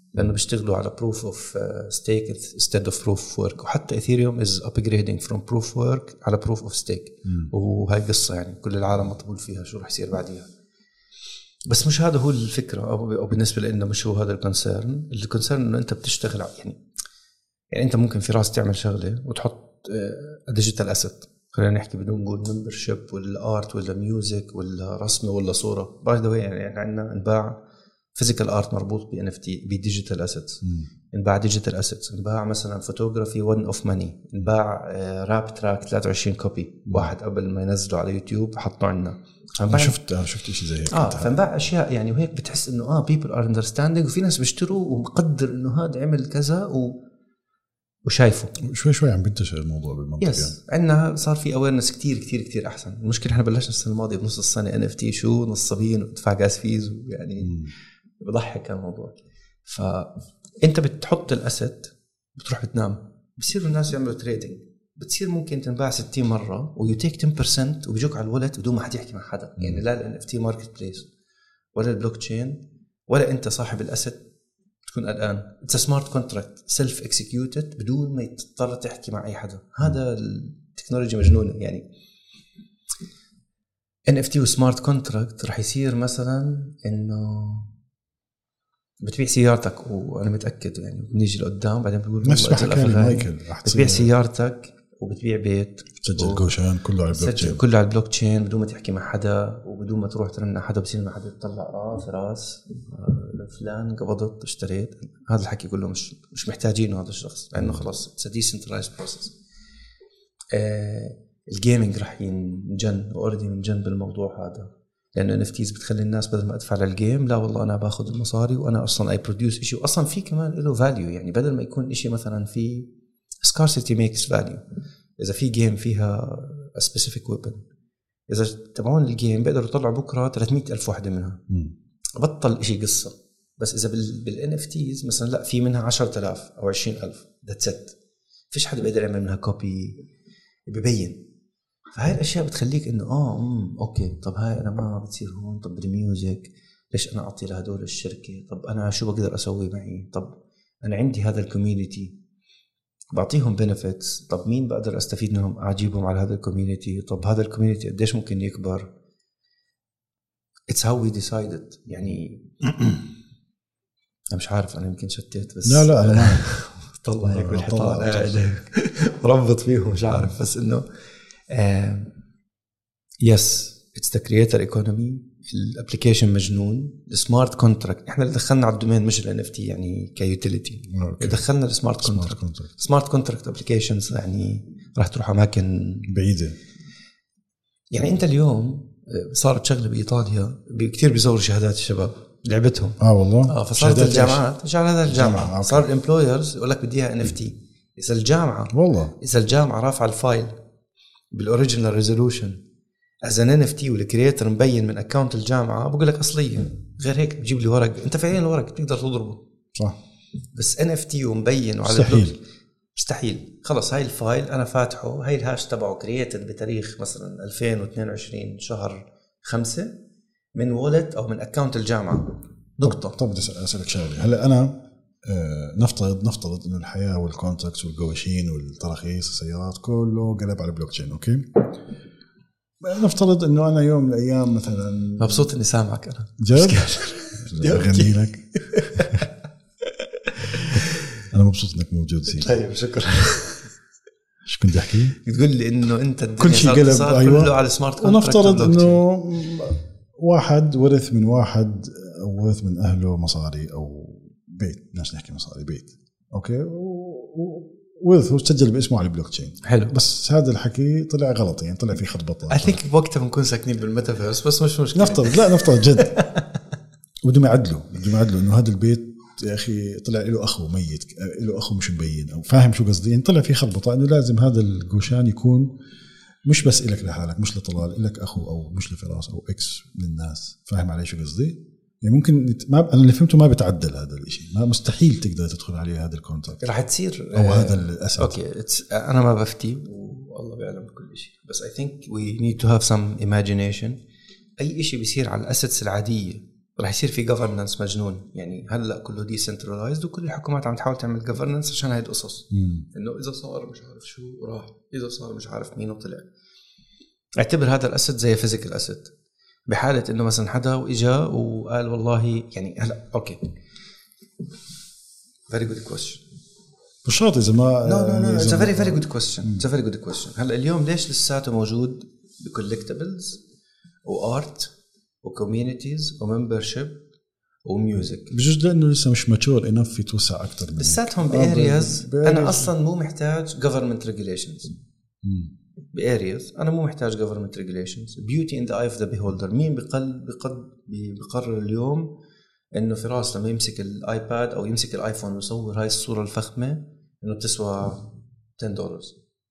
لانه بيشتغلوا على proof of stake instead of proof of work. وحتى اثيريوم is upgrading from proof of work على proof of stake. وهاي قصه يعني كل العالم مطبول فيها شو رح يصير بعديها. بس مش هذا هو الفكره، او بالنسبه لنا مش هو هذا الكونسيرن انه انت بتشتغل يعني انت ممكن في راس تعمل شغله وتحط ديجيتال اسيت، خلينا نحكي بدون نقول ممبرشيب ولا ارت ولا ميوزك ولا رسمه ولا صوره. باي ذا واي يعني عندنا انباع فيزيكال ارت مربوط بي ان اف تي بديجيتال اسيتس، انباع ديجيتال اسيتس، انباع مثلا فوتوغرافي 1 اوف ماني، انباع راب تراك 23 كوبي واحد قبل ما ينزله على يوتيوب حطوا عنا. انا شفت شيء زي هيك. فانباع اشياء يعني، وهيك بتحس انه people are understanding، وفي ناس بيشتروا ومقدر انه هذا عمل كذا وشايفه شوي عم بنتشر الموضوع بالمنطقه. يس عندنا صار في awareness كتير احسن. المشكله احنا بلشنا السنه الماضيه بنص السنه NFT شو نصابين وتدفع جاز فيز، ويعني بضحك الموضوع. فانت بتحط الاسيت بتروح بتنام، بصيروا الناس يعملوا تريدينج، بتصير ممكن تنباع 60 مره ويتيك 10% وبيجوك على الولد بدون ما حد يحكي مع حدا. يعني لا ال NFT ماركت بليس ولا البلوك تشين ولا انت صاحب الاسيت تكون الآن. It's a smart contract self executed بدون ما تضطر تحكي مع أي حدا. هذا التكنولوجيا مجنونة يعني. NFT و smart contract رح يصير مثلا إنه بتبيع سيارتك، وأنا متأكد يعني بنيجي لقدام بعدين بيقول نفس ما حكى مايكل، بتبيع سيارتك وبتبيع بيت، تسجل جوشان كله على البلوك تشين، كله على البلوك تشين بدون ما تحكي مع حدا وبدون ما تروح ترن حدا. بصير ما حدا يطلع راس فلان قبضت اشتريت. هذا الحكي كله مش محتاجينه هذا الشخص، لانه خلاص it's a decentralized process. الجيمينج راح ينجن واوردي من بالموضوع هذا، لانه NFTs بتخلي الناس بدل ما ادفع للجيم، لا والله انا باخذ المصاري وانا اصلا اي بروديوس شيء، واصلا في كمان له فاليو. يعني بدل ما يكون شيء مثلا في scarcity makes value. إذا في جيم فيها a specific weapon، إذا تبعون الجيم بيقدروا يطلعوا بكرة 300,000 واحدة منها، بطل إشي قصة. بس إذا بالNFTs مثلا لا، في منها 10,000 أو 20,000 that's it. فيش حدا بيقدر يعمل منها كوبي ببين. فهاي الأشياء بتخليك إنه أوكي طب هاي أنا ما بتصير هون، طب بالميوزك ليش أنا أعطي لهدول الشركة، طب أنا شو بقدر أسوي معي، طب أنا عندي هذا الكوميونيتي بعطيهم benefits، طب مين بقدر أستفيد منهم أعجيبهم على هذا الكوميونيتي، طب هذا الكوميونيتي قديش ممكن يكبر. It's how we decided يعني. أنا مش عارف، أنا يمكن شتيت بس لا أنا ما طلع هيك بالحيطان ربط فيهم مش عارف. بس إنه yes it's the creator economy. الابليكيشن مجنون. السمارت كونتراكت احنا اللي دخلنا على الدومين مش ال NFT يعني كيوتيليتي، دخلنا السمارت كونتراكت. سمارت كونتراكت ابليكيشنز يعني راح تروح اماكن بعيده. يعني انت اليوم صارت شغله بايطاليا كثير بيزوروا شهادات الشباب لعبتهم والله فصارت الجامعات شهادات الجامعه صار الامبلويرز يقول لك بدي اياها NFT. اذا الجامعه رافعه الفايل بالاوريجينال ريزولوشن از ان NFT والكرييتر مبين من اكاونت الجامعه، بقول لك اصليه. غير هيك بجيب لي ورق، انت فعليا الورق تقدر تضربه صح، بس NFT ومبين وعلى مستحيل. خلص هاي الفايل انا فاتحه، هاي الهاش تبعه كرييتد بتاريخ مثلا 2022 شهر 5 من وولت او من اكاونت الجامعه نقطه. طب بدي اسالك شغله. هلا انا نفترض انه الحياه والكونتراكتس والجواشين والتراخيص السيارات كله قلب على البلوك تشين. اوكي، نفترض انه انا يوم من الايام مثلا مبسوط اني سامعك. انا جد اغني لك. انا مبسوط انك موجود سيدي. طيب شكرا. ايش كنت احكي؟ تقول لي انه انت كل شيء قلب كله على سمارت كونتراكت. ونفترض انه واحد ورث من واحد او ورث من اهله مصاري او بيت، بدناش نحكي مصاري، بيت اوكي، ورثه وسجل باسمه على البلوك تشين. حلو، بس هذا الحكي طلع غلط، يعني طلع فيه خطبطه. I think بوقتها بنكون ساكنين بالميتافيرس، بس مش مشكله. نفترض جد بدهم يعدلوا انه هذا البيت يا اخي طلع له اخو ميت، له اخو مش مبين، او فاهم شو قصدي. يعني طلع فيه خطبطه انه لازم هذا الجوشان يكون مش بس إلك لحالك، مش لطلال، إلك أخو أو مش لفراس أو إكس من الناس. فاهم علي شو قصدي؟ يعني ممكن أنا اللي فهمته ما بتعدل هذا الإشي، ما مستحيل تقدر تدخل عليه هذا الكونتراكت، راح تصير أو هذا الأسد. أوكي، أنا ما بفتي والله بيعلم كل شيء، بس I think we need to have some imagination. أي إشي بيصير على الأسيتس العادية راح يصير في governance مجنون. يعني هلا كله decentralized وكل الحكومات عم تحاول تعمل governance عشان هاي القصص، انه اذا صار مش عارف شو راح، اذا صار مش عارف مين وطلع. اعتبر هذا الاسد زي physical asset. بحاله انه مثلا حدا واجا وقال والله يعني هلا اوكي very good question. مش شرط اذا ما no it's a very good question. it's a very good question. هلا اليوم ليش لساته موجود بcollectibles وارت وكوميونيتيز وممبرشيب وميوزك؟ بجوز لانه لسه مش ماتشور انف في توسع اكثر من لساتهم بارياز. انا اصلا مو محتاج government regulations. بارياز انا مو محتاج government regulations. beauty in the eye of the beholder. مين بقرر اليوم انه فراس لما يمسك الايباد او يمسك الايفون ويصور هاي الصوره الفخمه انه بتسوى $10؟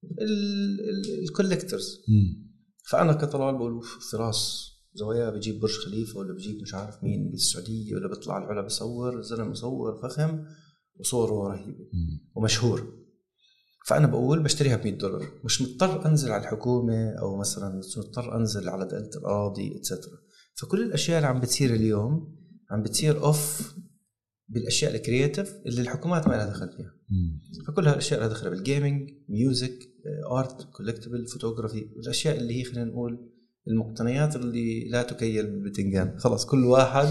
الكولكترز. فانا كطلال بقول فراس زوايا بجيب برج خليفه ولا بجيب مش عارف مين بالسعوديه ولا بيطلع العلا بصور زلمه مصور فخم وصوره رهيبه ومشهور. فانا بقول بشتريها $100. مش مضطر انزل على الحكومه او مثلا مش مضطر انزل على دائره الاراضي اتسترا. فكل الاشياء اللي عم بتصير اليوم عم بتصير اوف بالاشياء الكرياتيف اللي الحكومات ما لها دخل فيها. فكل هالاشياء لها دخل بالجيمنج، ميوزك، ارت، كولكتبل، فوتوغرافي، الاشياء اللي هي خلينا نقول المقتنيات اللي لا تكيل بتنجان. خلاص كل واحد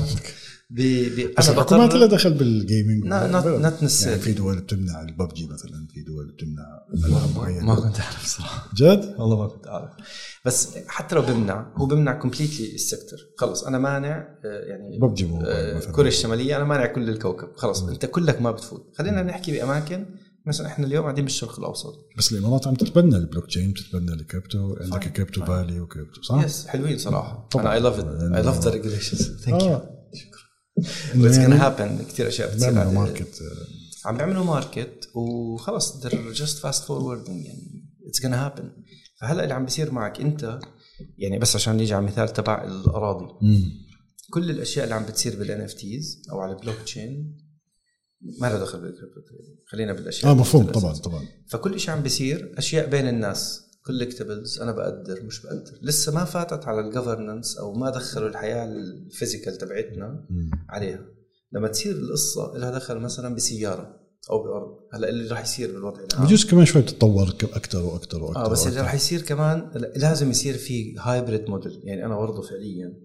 بس الحكومات لا دخل بالجيمنج. يعني في دول بتمنع الببجي مثلا، في دول بتمنع العاب معينه. ما كنت اعرف صراحه جد والله ما كنت اعرف. بس حتى لو بمنع هو بمنع كومبليتلي السيكتور. خلص انا مانع يعني ببجي كوريا الشماليه انا مانع كل الكوكب. خلص انت كلك ما بتفوت. خلينا نحكي باماكن مثلا احنا اليوم قاعدين بالشرق الاوسط. بس الامارات عم تتبنى البلوك تشين، تتبنى الكريبتو. عندك كريبتو فالي وكريبتو صح؟ يس حلوين صراحه. انا اي لاف ات. اي لاف ذا ريجوليشنز. ثانك يو. شكرا. It's gonna happen. كتير اشياء بتصير على ماركت. عم بيعملوا ماركت وخلص they're just fast forwarding يعني it's gonna happen. فهلا اللي عم بيصير معك انت يعني بس عشان نيجي على المثال تبع الاراضي. كل الاشياء اللي عم بتصير بالNFTs او على البلوك تشين ما له دخل بالكريبتو. خلينا بالاشياء مفهوم طبعا. فكل شيء عم بيصير اشياء بين الناس collectibles. انا بقدر مش بقدر لسه ما فاتت على الجوفرننس او ما دخلوا الحياه الفيزيكال تبعتنا عليها. لما تصير القصه لها دخل مثلا بسياره او بارض. هلا اللي راح يصير بالوضع العام بجوز كمان شوي تتطور اكثر واكثر بس اللي راح يصير كمان لازم يصير في هايبريد موديل. يعني انا برضه فعليا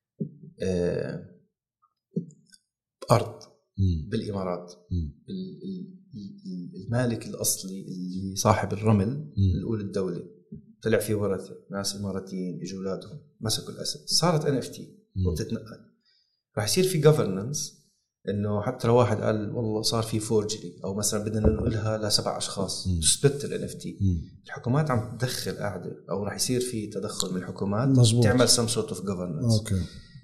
ارض بالامارات المالك الاصلي اللي صاحب الرمل الاول الدوله طلع فيه ورثه ناس اماراتيين اجوا اولادهم مسكوا الاسد صارت NFT وبتتنقل. راح يصير في governance انه حتى لو واحد قال والله صار في فورجري او مثلا بدنا ننقلها ل7 اشخاص تثبت الNFT. الحكومات عم تدخل قاعده او راح يصير في تدخل من الحكومات مزبوط. تعمل some sort of governance. اوكي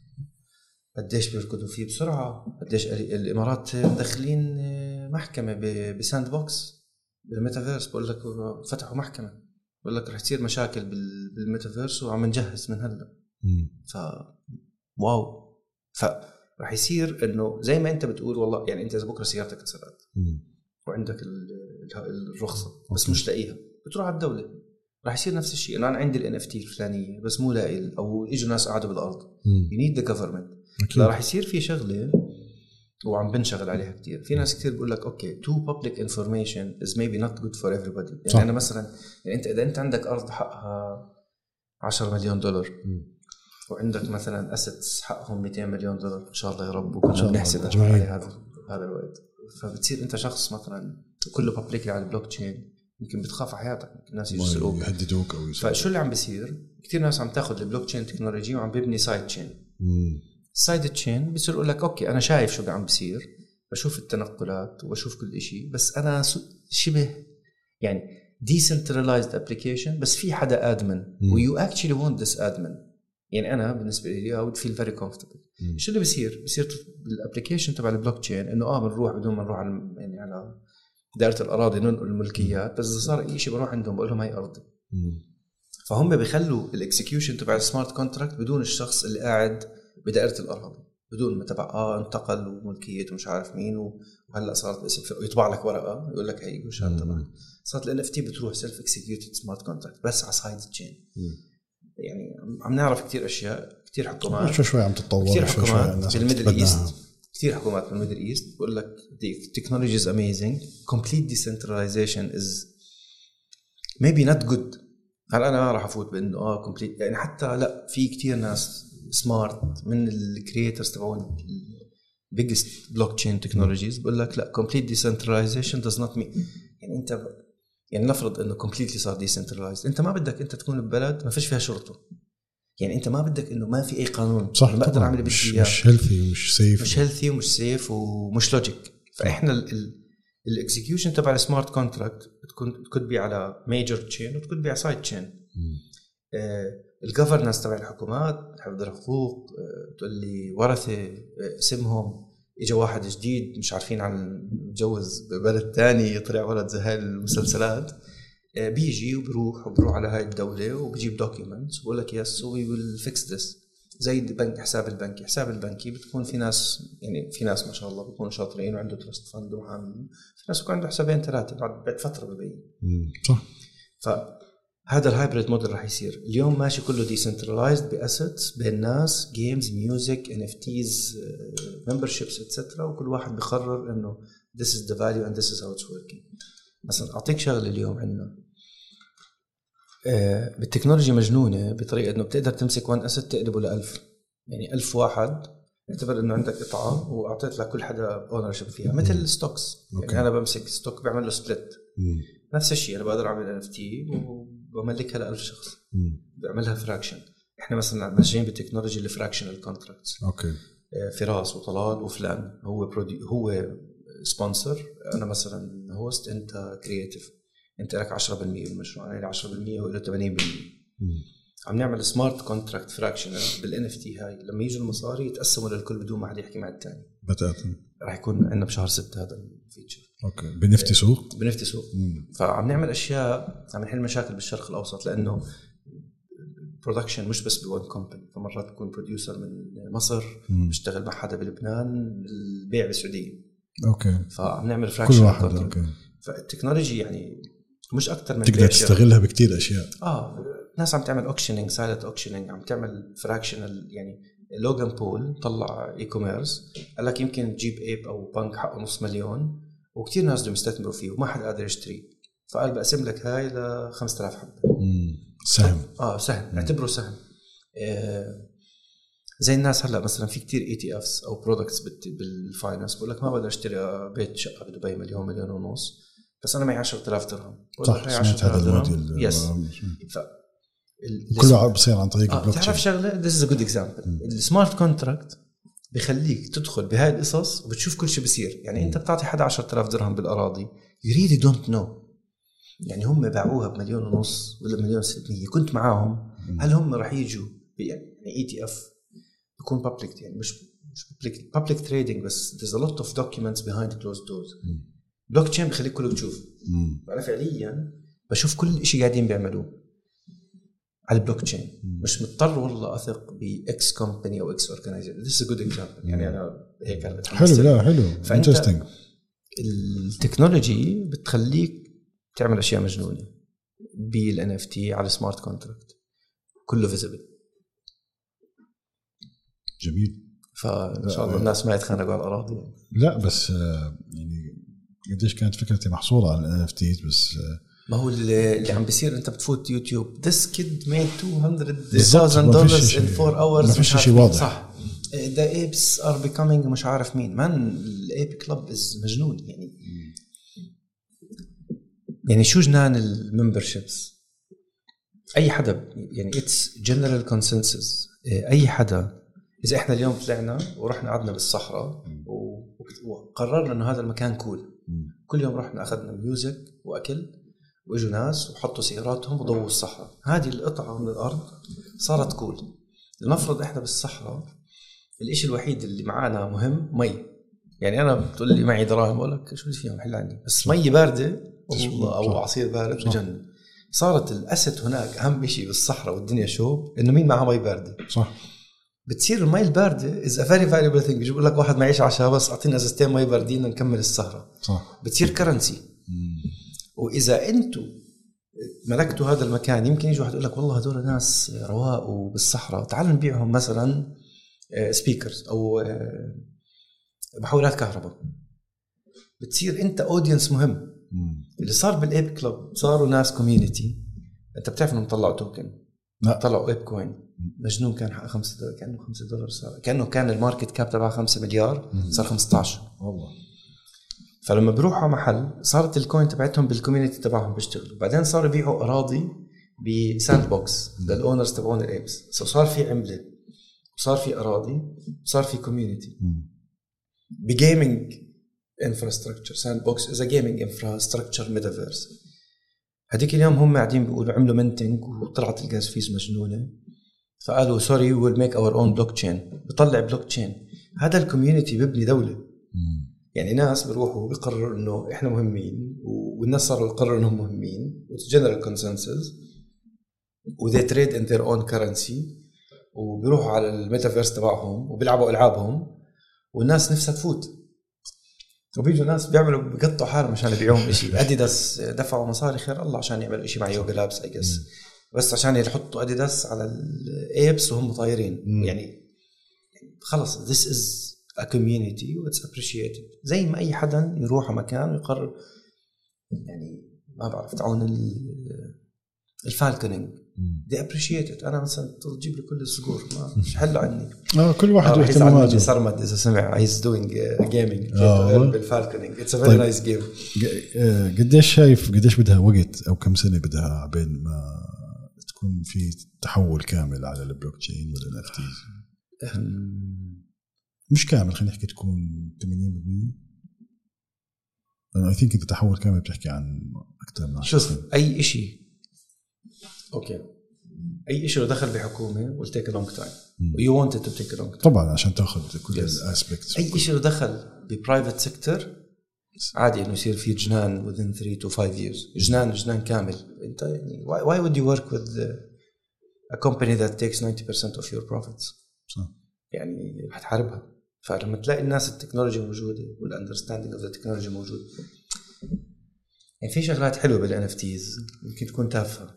قديش بيركضوا فيه بسرعه. قديش الامارات داخلين محكمه بساند بوكس بالميتافيرس. بقول لك فتحوا محكمه بقول لك رح تصير مشاكل بالميتافيرس وعم نجهز من هلا. ف واو. فرح يصير انه زي ما انت بتقول والله يعني انت اذا بكره سيارتك اتسرقت وعندك الرخصه بس مش لاقيها بتروح على الدوله. راح يصير نفس الشيء. انا عندي الNFT الفلانيه بس مو لاقي او اجوا ناس قاعدوا بالارض you need the government. لا راح يصير في شغله وعم بنشغل عليها كتير. في ناس كتير بيقول لك اوكي too public information is maybe not good for everybody. يعني صح. انا مثلا يعني انت اذا انت عندك ارض حقها $10 مليون وعندك مثلا assets حقهم $200 مليون ان شاء الله يا رب وكلنا بنحسب على هذا الوقت. فبتصير انت شخص مثلا كله publicly على البلوك تشين يمكن بتخاف على حياتك الناس يسرقوك يهددوك او يسرقوك. فشو اللي عم بيصير كتير ناس عم تاخذ البلوك تشين تكنولوجي وعم بيبني سايد تشين. سايد تشين بيصير يقول لك اوكي انا شايف شو عم بيصير بشوف التنقلات وبشوف كل إشي بس انا شبه يعني decentralized application بس في حدا ادمن و you actually want this admin. يعني انا بالنسبه لي I would feel very comfortable. شو اللي بيصير بالابلكيشن تبع البلوك تشين انه بنروح بدون ما نروح يعني على دائره الاراضي ننقل الملكيات بس اذا صار اي شيء بروح عندهم بقول لهم هاي ارضي. فهم بيخلوا الاكسكيوشن تبع السمارت كونتراكت بدون الشخص اللي قاعد بدائره الاراضي بدون ما تبع انتقل وملكيته مش عارف مين وهلا صارت اسم يطبع لك ورقه يقول لك هي وشان تبعك. صارت الNFT بتروح سيلف اكسكيوتد سمارت كونتراكت بس على سايد تشين. يعني عم نعرف كتير اشياء، كتير حكومات شوي عم تتطور، كتير حكومات بالميدل ايست، كتير حكومات بالميدل ايست بقول لك the technology is amazing, complete decentralization is maybe not good. هلا انا راح افوت بانه complete يعني حتى لا، في كتير ناس سمارت من الكرييترز تبعون biggest blockchain technologies بقول لك لا complete decentralization does not mean يعني انت يعني نفرض انه completely صار decentralized، انت ما بدك انت تكون ببلد ما فيش فيها شرطه، يعني انت ما بدك انه ما في اي قانون، صح بقدر اعمل اللي بدي اياه، مش هيلثي ومش سيف، مش هيلثي ومش سيف ومش لوجيك. فاحنا الاكزيكيوشن تبع السمارت كونتراكت بتكون بي على ميجر تشين وتكون بي على سايد تشين. الجفرنس تبع الحكومات، حفظ الحقوق، تقول لي ورثه اسمهم، اجى واحد جديد مش عارفين عن متجوز ببلد تاني طلع ولد زي هاي المسلسلات، بيجي وبروح على هاي الدولة وبيجيب دوكيومنتس وبقول لك يس وي ويل فيكس ذس. زي البنك، حساب البنكي بتكون في ناس، يعني في ناس ما شاء الله بيكونوا شاطرين وعنده ترست فند وعاملين، في ناس بيكون عنده حسابين ثلاثة بعد فترة ببين. صح. فهذا الهايبريد موديل راح يصير اليوم ماشي كله ديسنترلايزد بأسيتس بين ناس، جيمز، ميوزك، NFTs، memberships etc. وكل واحد بيقرر انه this is the value and this is how it's working. مثلا اعطيك شغله اليوم عندنا بالتكنولوجيا مجنونه بطريقه انه بتقدر تمسك وان اسيت تقلبه ل1000، يعني 1000 واحد اعتبر انه عندك قطعه واعطيت لك كل حدا اونرشيب فيها مثل الستوكس. يعني انا بمسك ستوك بعمل له سبليت، نفس الشيء انا بقدر اعمل NFT وبملكها ل1000 شخص، بعملها فراكشن. احنا مثلا ماشيين بالتكنولوجيا الفراكشنال كونتراكتس. اوكي. فراس وطلال وفلان هو سبونسر، انا مثلا هوست، انت كرياتيف، انت لك 10% بالمشروع، انا لي 10% وله 80%. عم نعمل سمارت كونتراكت فراكشنال بالNFT هاي، لما يجوا المصاري يتقسموا للكل بدون ما حد يحكي مع الثاني. بتاتا راح يكون عندنا بشهر 6 هذا الفيتشر. اوكي. بنفتي سوق. فعم نعمل اشياء، عم نحل مشاكل بالشرق الاوسط، لانه برودكشن مش بس بون كومباني، فمرات بكون بروديوسر من مصر بيشتغل مع حدا بلبنان، البيع بالسعوديه. اوكي. فعم نعمل فراكشن كل واحد. اوكي. فالتكنولوجي يعني مش اكتر من تقدر تستغلها بكتير اشياء. ناس عم تعمل اوكشنينج، سايلنت اوكشنينج، عم تعمل فراكشنال. يعني لوغان بول طلع اي كوميرس قال لك يمكن تجيب ايب او بنك حقه $500,000 وكتير ناس بدهم يستثمروا فيه وما حد قادر يشتري، فقال بقسم لك هاي ل 5000 حبه. سهم. سهم، اعتبره سهم. زي الناس هلا مثلا في كتير ETFs او برودكتس بالفاينانس بقول لك ما بقدر اشتري بيت شقه بدبي $1.5 مليون، بس انا معي 10,000 درهم. صح. سمعت هذا الموديل. يس. كله بصير عن طريق البلوك تشين. تعرف شغله، this is a good example. السمارت كونتراكت بيخليك تدخل بهاي القصص وبتشوف كل شيء بيصير. يعني انت بتعطي حدا 10,000 درهم بالاراضي، you really don't know. يعني هم باعوها $1.5 مليون ولا $1,600,000، كنت معاهم. هل هم راح يجوا يعني ETF يكون public، يعني مش public trading، بس there's a lot of documents behind closed doors. بلوك تشين بخليك كله تشوف. فأنا فعليا بشوف كل شيء قاعدين بيعملوه على البلوك تشين، مش مضطر والله أثق بإكس كومباني أو إكس أورجانيزيشن. this is a good example. يعني أنا هيك أنا حلو. لا حلو. interesting. التكنولوجي بتخليك تعمل أشياء مجنونة بالNFT على سمارت كونتراكت، كله فيزبل. جميل. فإن شاء الله الناس ما يتخانقوا على الأراضي. لا بس يعني قديش كانت فكرتي محصورة على NFTs بس. ما هو اللي عم بيصير، انت بتفوت يوتيوب this kid made $200,000 in 4 hours، ما فيش شيء واضح. صح. the apes are becoming مش عارف مين الايب كلاب is مجنون. يعني شو جنان الممبرشيبس. اي حدا يعني it's general consensus. اي حدا اذا احنا اليوم طلعنا ورحنا قعدنا بالصحراء وقررنا انه هذا المكان كول، كل يوم رحنا اخذنا ميوزك واكل واجوا ناس وحطوا سياراتهم وضووا الصحراء، هذه القطعة من الأرض صارت كول. لنفرض إحنا بالصحراء الإشي الوحيد اللي معانا مهم مي. يعني أنا بتقول لي معي دراهم أقول لك شو فيهم حل عندي، بس مي باردة أو عصير بارد بجنن. صارت الأسد هناك أهم شيء بالصحراء والدنيا شوب إنه مين معه مي باردة. صح. بتصير المي الباردة is a very valuable thing. بيقول لك واحد معيش عشاء بس أعطينا ازازتين مي باردين نكمل السهرة. صح. بتصير كرنسي. وإذا أنتوا ملكتوا هذا المكان يمكن يجي واحد يقول لك والله هذول ناس رواق وبالصحراء تعالوا نبيعهم مثلا سبيكرز او محولات كهرباء. بتصير انت اودينس مهم. اللي صار بالايب كلوب صاروا ناس كوميونيتي. انت بتعرف انهم طلعوا توكن طلعوا ايب كوين مجنون كان حق $5 كانه $5 صار كان الماركت كاب تبعه 5 مليار صار 15 والله. فلما بروحوا محل صارت الكوين تبعتهم بالكوميونيتي تبعهم بيشتغلوا. بعدين صاروا يبيعوا اراضي بساند بوكس للاونرز تبعون الايبس. صار في عمله وصار في اراضي وصار في كوميونيتي بجيمنج انفراستراكشر. ساند بوكس از ا جيمنج انفراستراكشر ميتافيرس. هديك اليوم هم قاعدين بيقولوا عملوا منتنج وطلعت الجاز فيز مجنونه فقالوا سوري ويل ميك اور اون بلوك تشين. بطلع بلوك تشين. هذا الكوميونيتي بيبني دوله. يعني ناس بيروحوا بيقرروا انه احنا مهمين والناس صاروا يقرروا انهم مهمين وجنرال كونسنسس وذي تريد ان ذير اون كرنسي وبيروحوا على الميتافيرس تبعهم وبيلعبوا العابهم والناس نفسها تفوت. وبيجوا ناس بيعملوا بيقطعوا حالهم عشان يبيعوهم إشي. أديداس دفعوا مصاري خير الله عشان يعملوا إشي مع يوغا لابس بس عشان يحطوا أديداس على الإيبس وهم طايرين. يعني خلص this is a community it's appreciated. زي ما أي حدا يروح مكان ويقرر يعني ما بعرف تعون الفالكونينج they appreciate it. أنا مثلا تجيب لي كل الصقور ما مش حلو عني. كل واحد واهتماماته. صرمد إذا سمع he's doing gaming بالفالكونينج it's a very nice game. قديش شايف قديش بدها وقت أو كم سنة بدها بين ما تكون في تحول كامل على البلوك تشين ولا NFTs؟ مش كامل خلينا نحكي تكون 80%. أنا I think أنت تحول كامل بتحكي عن أكثر من 10 سنين. أي إشي أوكي أي إشي لو دخل بحكومة will take a long time. you want it to take a long time طبعا عشان تأخذ كل الأسبكتس. أي إشي لو دخل بprivate sector عادي إنه يصير في جنان within 3 to 5 years. جنان كامل. أنت يعني why would you work with a company that takes 90% of your profits؟ صح. يعني هتحاربها. فلما تلاقي الناس التكنولوجيا موجودة والunderstanding of the technology موجود. يعني في شغلات حلوة بالNFTs يمكن تكون تافهة.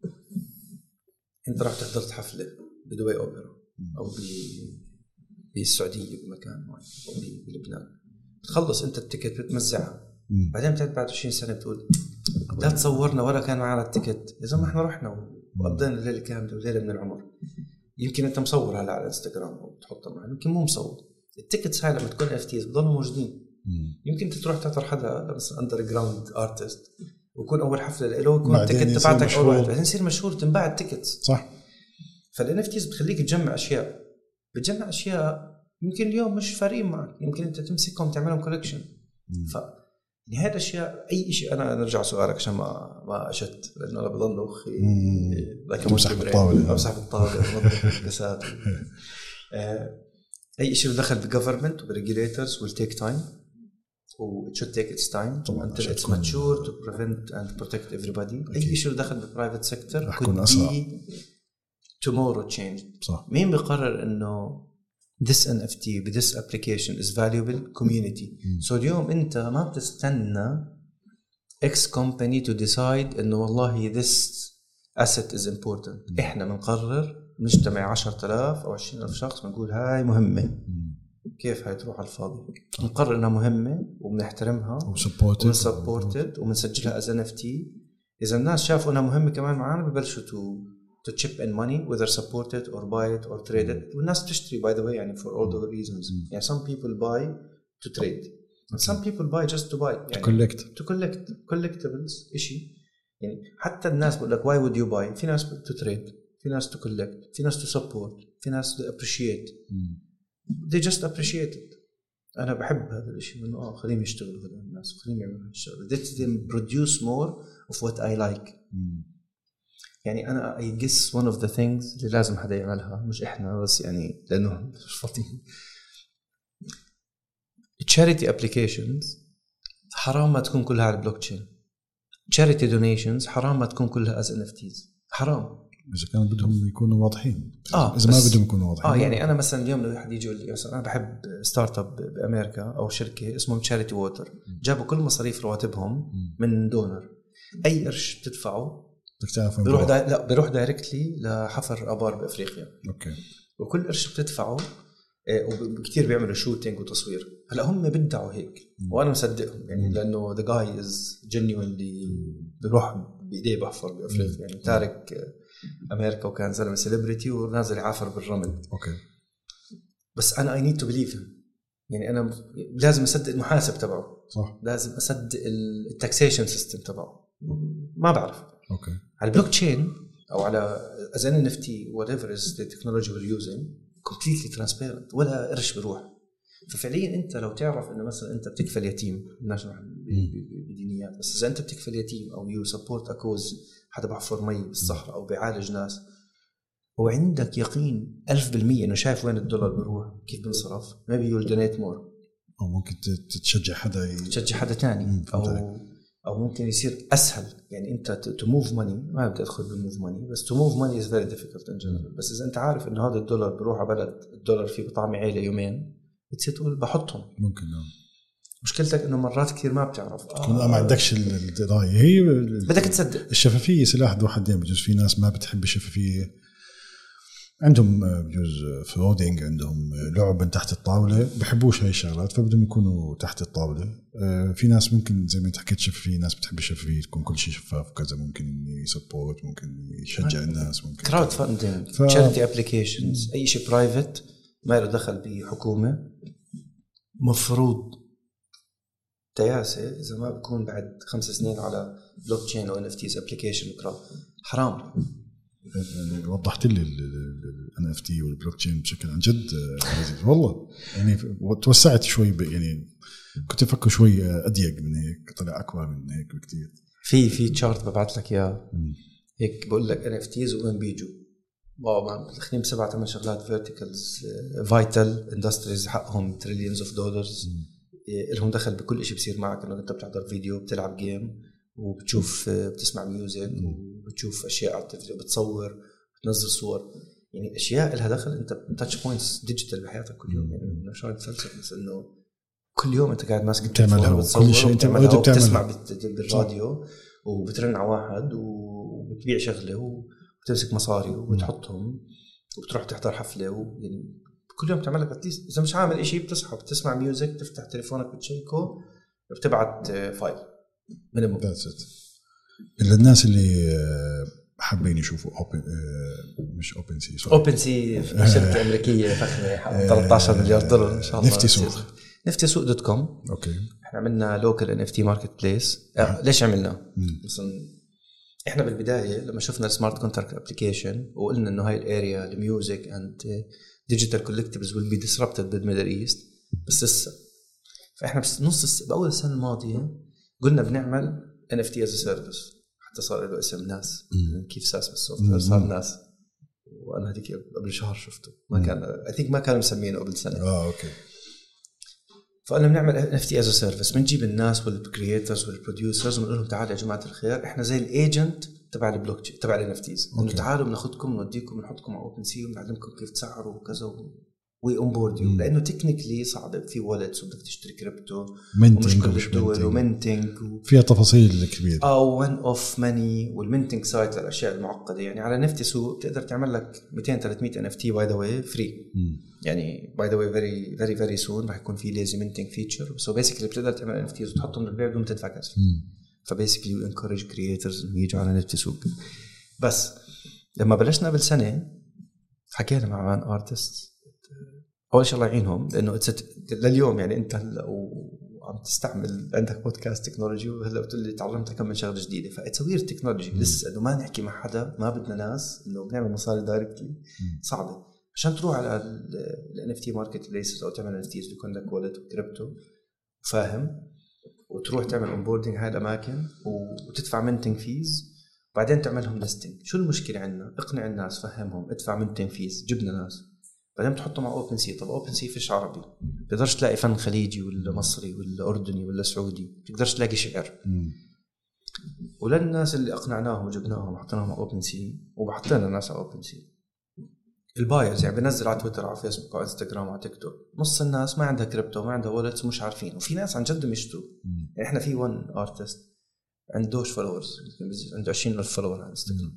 انت راح تحضر حفلة بدبي أوبرا أو بالسعودية بمكان معين أو بلبنان بتخلص انت التيكت بتمزعها بعدين بعد 20 سنة بتقول لا تصورنا ولا كان معنا التيكت. إذا ما احنا رحنا وقضينا الليلة كاملة وليلة من العمر. يمكن انت مصور هلا على انستغرام او بتحطها معنا يمكن مو مصور. التيكتس هاي لما تكون NFTs بضلوا موجودين. يمكن انت تروح تحضر حدا مثلا اندر جراوند ارتست ويكون اول حفله له يكون التيكت تبعتك اول واحد بعدين يصير مشهور تنباع التيكتس. صح. فالNFTs بتخليك تجمع بتجمع اشياء يمكن اليوم مش فارقين معك. يمكن انت تمسكهم تعملهم كولكشن. يعني هذا الاشياء اي شيء. انا نرجع سؤالك عشان ما اشت لانه انا بضل اخي لكن مسح الطاوله امسح الطاوله ونظف الكاسات. اي شيء دخل بالجفرمنت وبالريجوليترز will take time و it should take its time until it's mature to prevent and protect everybody. أي شيء دخل بالprivate sector could be tomorrow changed. صح. مين بيقرر إنه this NFT this application is valuable community. so اليوم أنت ما بتستنى X company to decide إنه والله this asset is important. إحنا بنقرر نجتمع 10,000 أو 20,000 شخص بنقول هاي مهمة. كيف هاي تروح على الفاضي؟ نقرر إنها مهمة وبنحترمها ونسبورتد وبنسجلها as NFT. إذا الناس شافوا إنها مهمة كمان معانا ببلشوا to chip in money whether support it or buy it or trade it. والناس تشتري by the way يعني for all the reasons. يعني some people buy to trade and some people buy just to buy يعني to collect collectibles إشي. يعني حتى الناس بقول لك why would you buy؟ في ناس to trade في ناس to collect في ناس to support في ناس to appreciate. they just appreciate it. أنا بحب هذا الشيء إنه خليهم يشتغلوا هذول الناس خليهم يعملوا الشغل. let them produce more of what I like. يعني أنا I guess one of the things اللي لازم حدا يعملها مش إحنا بس يعني لأنه مش فاضيين. charity applications حرام ما تكون كلها على البلوكتشين. charity donations حرام ما تكون كلها as NFTs. حرام إذا كانوا بدهم يكونوا واضحين. إذا ما بدهم يكونوا واضحين. يعني أنا مثلا اليوم لو حد يجي يقول لي مثلا أنا بحب ستارت اب بأمريكا أو شركة اسمهم تشاريتي ووتر جابوا كل مصاريف رواتبهم من دونر. أي قرش بتدفعه بدك تعرف بيروح دايركتلي لحفر ابار بافريقيا. اوكي. وكل قرش بتدفعه وكتير بيعملوا شوتينج وتصوير. هلا هم بدعوا هيك وانا مصدقهم يعني لانه the guy is genuinely بيروح بايديه بحفر بافريقيا يعني تارك امريكا وكان زلمه سيلبرتي ونازل يعافر بالرمل. اوكي. بس انا I need to believe him يعني انا لازم اصدق المحاسب تبعه صح. لازم اصدق التاكسيشن سيستم تبعه ما بعرف. اوكي. على البلوك تشين او على as an NFT whatever is the technology we're using completely transparent ولا قرش بروح. ففعليا انت لو تعرف انه مثلا انت بتكفل يتيم الناس بدينيات بس اذا انت بتكفل يتيم او you support a cause حدا بحفر مي بالصحراء او بيعالج ناس وعندك يقين 1000% انه شايف وين الدولار بيروح كيف بنصرف maybe you'll donate more او ممكن تشجع حدا تاني او ممكن يصير اسهل يعني انت to move money ما بدي ادخل بالmove money بس to move money is very difficult in general. بس اذا انت عارف انه هذا الدولار بيروح على بلد الدولار فيه بطعم عيله يومين بتصير تقول بحطهم ممكن. مشكلتك انه مرات كثير ما بتعرف تكون ما عندكش القضايا هي بدك تصدق. الشفافيه سلاح ذو حدين. بجوز في ناس ما بتحب الشفافيه عندهم بجوز فرودينج عندهم لعب من تحت الطاوله بحبوش هاي الشغلات فبدهم يكونوا تحت الطاوله. في ناس ممكن زي ما انت حكيت شفافيه ناس بتحب الشفافيه تكون كل شيء شفاف وكذا ممكن يسبورت ممكن يشجع الناس ممكن كراود فاندينج تشاريتي ابليكيشنز اي شيء برايفت ما له دخل بحكومه مفروض تياسه اذا ما بكون بعد 5 سنين على بلوك تشين او NFTs ابليكيشن وكراود حرام. يعني وضحت لي NFT والبلوك تشين بشكل عن جد لذيذ والله يعني توسعت شوي يعني كنت افكر شوي اضيق من هيك طلع اكبر من هيك بكتير. في تشارت ببعث لك اياه هيك بقول لك NFTs وين بيجوا واو مان داخلين ب7-8 شغلات فيرتيكالز فايتال اندستريز حقهم تريليونز اوف دولارز لهم دخل بكل شيء بصير معك انه انت بتحضر فيديو بتلعب جيم وبتشوف بتسمع ميوزك وبتشوف اشياء على التلفزيون بتصور بتنزل صور يعني اشياء لها دخل انت تاتش بوينتس ديجيتال بحياتك كل يوم يعني مش عارف فلسفه بس انه كل يوم انت قاعد ماسك تعملها وكل شيء انت بتسمع بالراديو وبترن على واحد وبتبيع شغله وبتمسك مصاري وبتحطهم وبتروح تحضر حفله يعني كل يوم تعمل لك اتليست اذا مش عامل شيء بتصحى بتسمع ميوزك بتفتح تليفونك بتشيكه بتبعت فايل من الناس اللي حابين يشوفوا مش اوبن سي شركه امريكيه فخمه 13 مليار دولار ان شاء الله. نفتي سوق دوت كوم. اوكي. احنا عملنا لوكال NFT ماركت بليس. ليش عملنا مثلا احنا بالبدايه لما شفنا السمارت كونتراكت ابلكيشن وقلنا انه هاي الاريا الميوزك اند ديجيتال كولكتبلز ويل بي ديسربتد بالميدل ايست بس لسه فاحنا باول السنه الماضيه قلنا بنعمل NFT as a service حتى صار له اسم ناس كيف ساس بالسوفت صار ناس وانا هذيك قبل شهر شفته ما كان I think ما كانوا مسمينه قبل سنه. اوكي. فقلنا بنعمل NFT as a service بنجيب الناس والكرييترز والبروديوسرز ونقول لهم تعالوا يا جماعه الخير احنا زي الايجنت تبع البلوك تشين تبع الNFTs انه تعالوا بناخذكم نوديكم نحطكم على اوبن سي ونعلمكم كيف تسعروا وكذا وي اون بورد يو لانه تكنيكلي صعب في والتس وبدك تشتري كريبتو ومش كل الدول ومنتنج فيها تفاصيل كبيره او ون اوف ماني والمنتنج سايت للاشياء المعقده يعني على نفتي سوق بتقدر تعمل لك 200-300 NFT باي ذا واي فري يعني باي ذا واي فيري فيري فيري سون راح يكون في ليزي منتنج فيتشر سو بيسكلي بتقدر تعمل NFTs وتحطهم للبيع بدون تدفع كاش فبيسكلي يو انكورج كرييترز انه يجوا على نفتي سوق. بس لما بلشنا قبل سنه حكينا مع مان ارتست اول شيء الله يعينهم لانه لليوم يعني انت هلا وعم تستعمل عندك بودكاست تكنولوجي وهلا بتقول لي تعلمت كم من شغله جديده فاتسوير تكنولوجي لسه انه ما نحكي مع حدا ما بدنا ناس انه بنعمل مصاري دايركتلي صعبه عشان تروح على ال NFT ماركت بليسز او تعمل NFTs بيكون لك والت وكريبتو فاهم وتروح تعمل اونبوردنج هاي الاماكن وتدفع منتنج فيز بعدين تعملهم ليستنج. شو المشكله عندنا؟ اقنع الناس فهمهم ادفع منتنج فيز جبنا ناس بعدين تحطه مع اوبن سي. طب اوبن سي فيش عربي بتقدرش تلاقي فن خليجي ولا مصري ولا اردني ولا سعودي بتقدرش تلاقي شعر وللناس اللي اقنعناهم وجبناهم وحطيناهم على اوبن سي وبحطينا الناس على اوبن سي البايرز يعني بنزل على تويتر على فيسبوك على انستغرام على تيك توك نص الناس ما عندها كريبتو ما عندها والتس مش عارفين وفي ناس عن جد مشتوا يعني احنا في ون ارتست عندوش فولورز، عنده 20,000 فولور على انستغرام.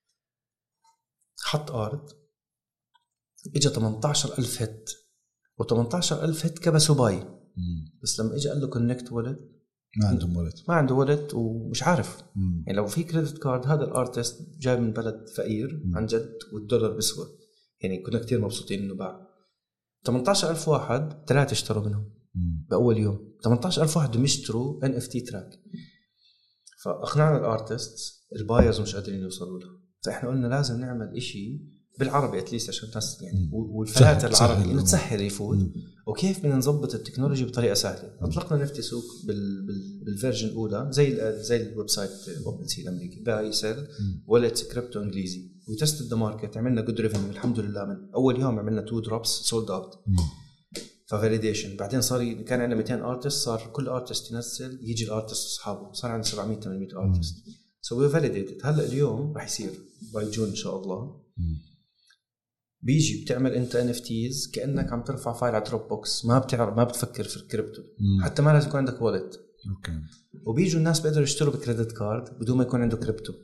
حط ارت اجى 18,000 هيت، و18,000 هيت كبسوا باي. بس لما اجى قال له كونكت والت ما عنده والت ومش عارف. يعني لو في كريدت كارد، هذا الارتست جاي من بلد فقير عن جد والدولار بيسوى، يعني كنا كتير مبسوطين انه باع. 18,000 واحد 3 اشتروا منهم باول يوم. 18,000 واحد يشتروا NFT تراك. فاقنعنا الارتست، البايرز مش قادرين يوصلوا له. فاحنا قلنا لازم نعمل إشي بالعربي اتليست عشان الناس يعني والفلاتر العربي انه تسهل يفوت. وكيف بدنا نظبط التكنولوجيا بطريقه سهله. اطلقنا نفتي سوق بالفيرجن الاولى زي الويب سايت اوبن سي الامريكي، باي سيل والت كريبتو انجليزي. وتست ذا ماركت، عملنا جود ريفينيو الحمد لله. من اول يوم عملنا 2 دروبس سولد اوت. ففاليديشن بعدين صار كان عندنا 200 ارتست، صار كل ارتست ينزل يجي الارتست اصحابه، صار عندنا 700 800 ارتست. سو وي فاليديتد. هلا اليوم راح يصير باي جون ان شاء الله. بيجي بتعمل انت NFTs كأنك عم ترفع فايل على دروب بوكس، ما بتفكر في الكريبتو. حتى ما لازم يكون عندك والت. اوكي. وبيجوا الناس بيقدروا يشتروا بكريدت كارد بدون ما يكون عنده كريبتو.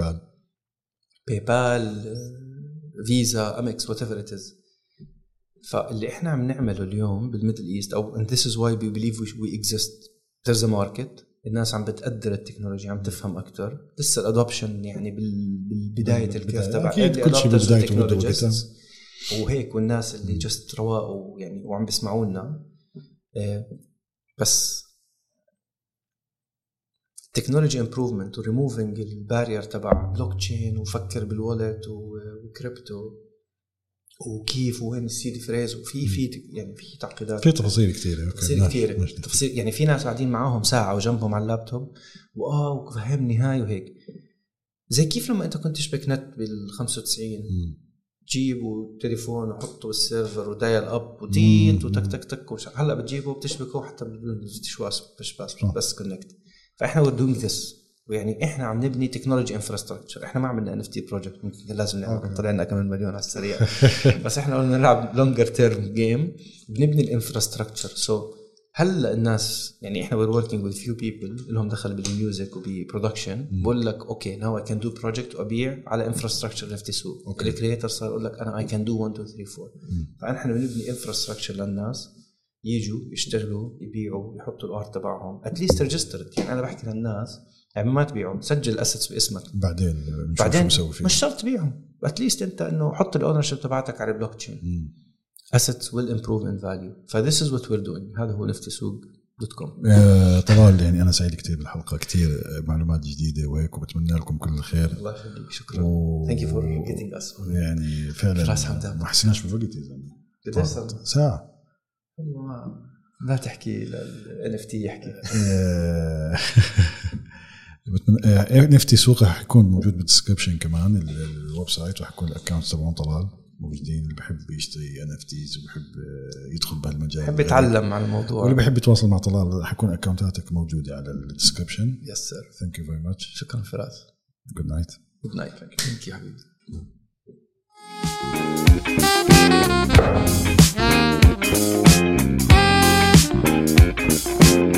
باي فيزا امكس وات ايفر ات از. فاللي احنا عم نعمله اليوم بالميدل ايست، او and this is why we believe we exist, there's a market. الناس عم بتقدر التكنولوجيا، عم تفهم اكتر. لسه الادوبشن يعني بالبدايه الكيرف تبع كل شيء بدايته وهيك. والناس اللي جست رواقوا يعني وعم بيسمعونا. بس تكنولوجي امبروفمنت وريموفينج البارير تبع بلوك تشين وفكر بالوالت وكريبتو وكيف وين السيدي فريز. وفي يعني في تعقيدات، في تفاصيل كثيره. تفاصيل يعني في ناس قاعدين معاهم ساعه وجنبهم على اللابتوب وفهمني هاي وهيك. زي كيف لما انت كنت تشبك نت بال95 تجيبوا تليفون وحطوا بالسيرفر ودايل اب وديت وتك تك تك هلا بتجيبه وبتشبكه حتى بالشواس بس كونكت. فاحنا we're doing this. ويعني احنا عم نبني تكنولوجي انفراستراكشر. احنا ما عملنا NFT بروجكت، ممكن لازم نعمل طلعنا كمان مليون على السريع. بس احنا قلنا نلعب لونجر تيرم جيم، بنبني الانفراستراكشر. هلا الناس يعني احنا we're working with few people لهم دخل بالميوزك وبرودكشن. بقول لك اوكي now I can do project وابيع على انفراستراكشر نفتي سوق. الكرييتر صار يقول لك انا I can do 1 2 3 4. فاحنا بنبني انفراستراكشر للناس يجوا يشتغلوا يبيعوا يحطوا الارت تبعهم اتليست ريجسترد. يعني انا بحكي للناس يعني ما تبيعهم، سجل الاسيتس باسمك، بعدين مش شرط تبيعهم. اتليست انت انه حط الاونرشيب تبعتك على البلوك تشين. assets will improve in value. فthis is what we're doing. هذا هو نفتيسوق.com. طبعا يعني انا سعيد كتير بالحلقه، كتير معلومات جديده وهيك، وبتمنى لكم كل الخير. الله يخليك، شكرا. thank you for getting us. يعني فعلا ما حسيناش بالوقت يا زلمه. ساعه والله. لا تحكي NFT يحكي. NFT سوق رح يكون موجود بالديسكربشن كمان. الويب سايت رح يكون الاكونت تبعهم طلال موجودين. اللي بحب يشتري NFTs وبحب يدخل بهالمجال، بحب يتعلم عن الموضوع، واللي بحب يتواصل مع طلال رح يكون اكونتاتك موجوده على الديسكربشن. يس سير. ثانك يو فيري ماتش. شكرا فراس. جود نايت. جود نايت. ثانك يو حبيبي.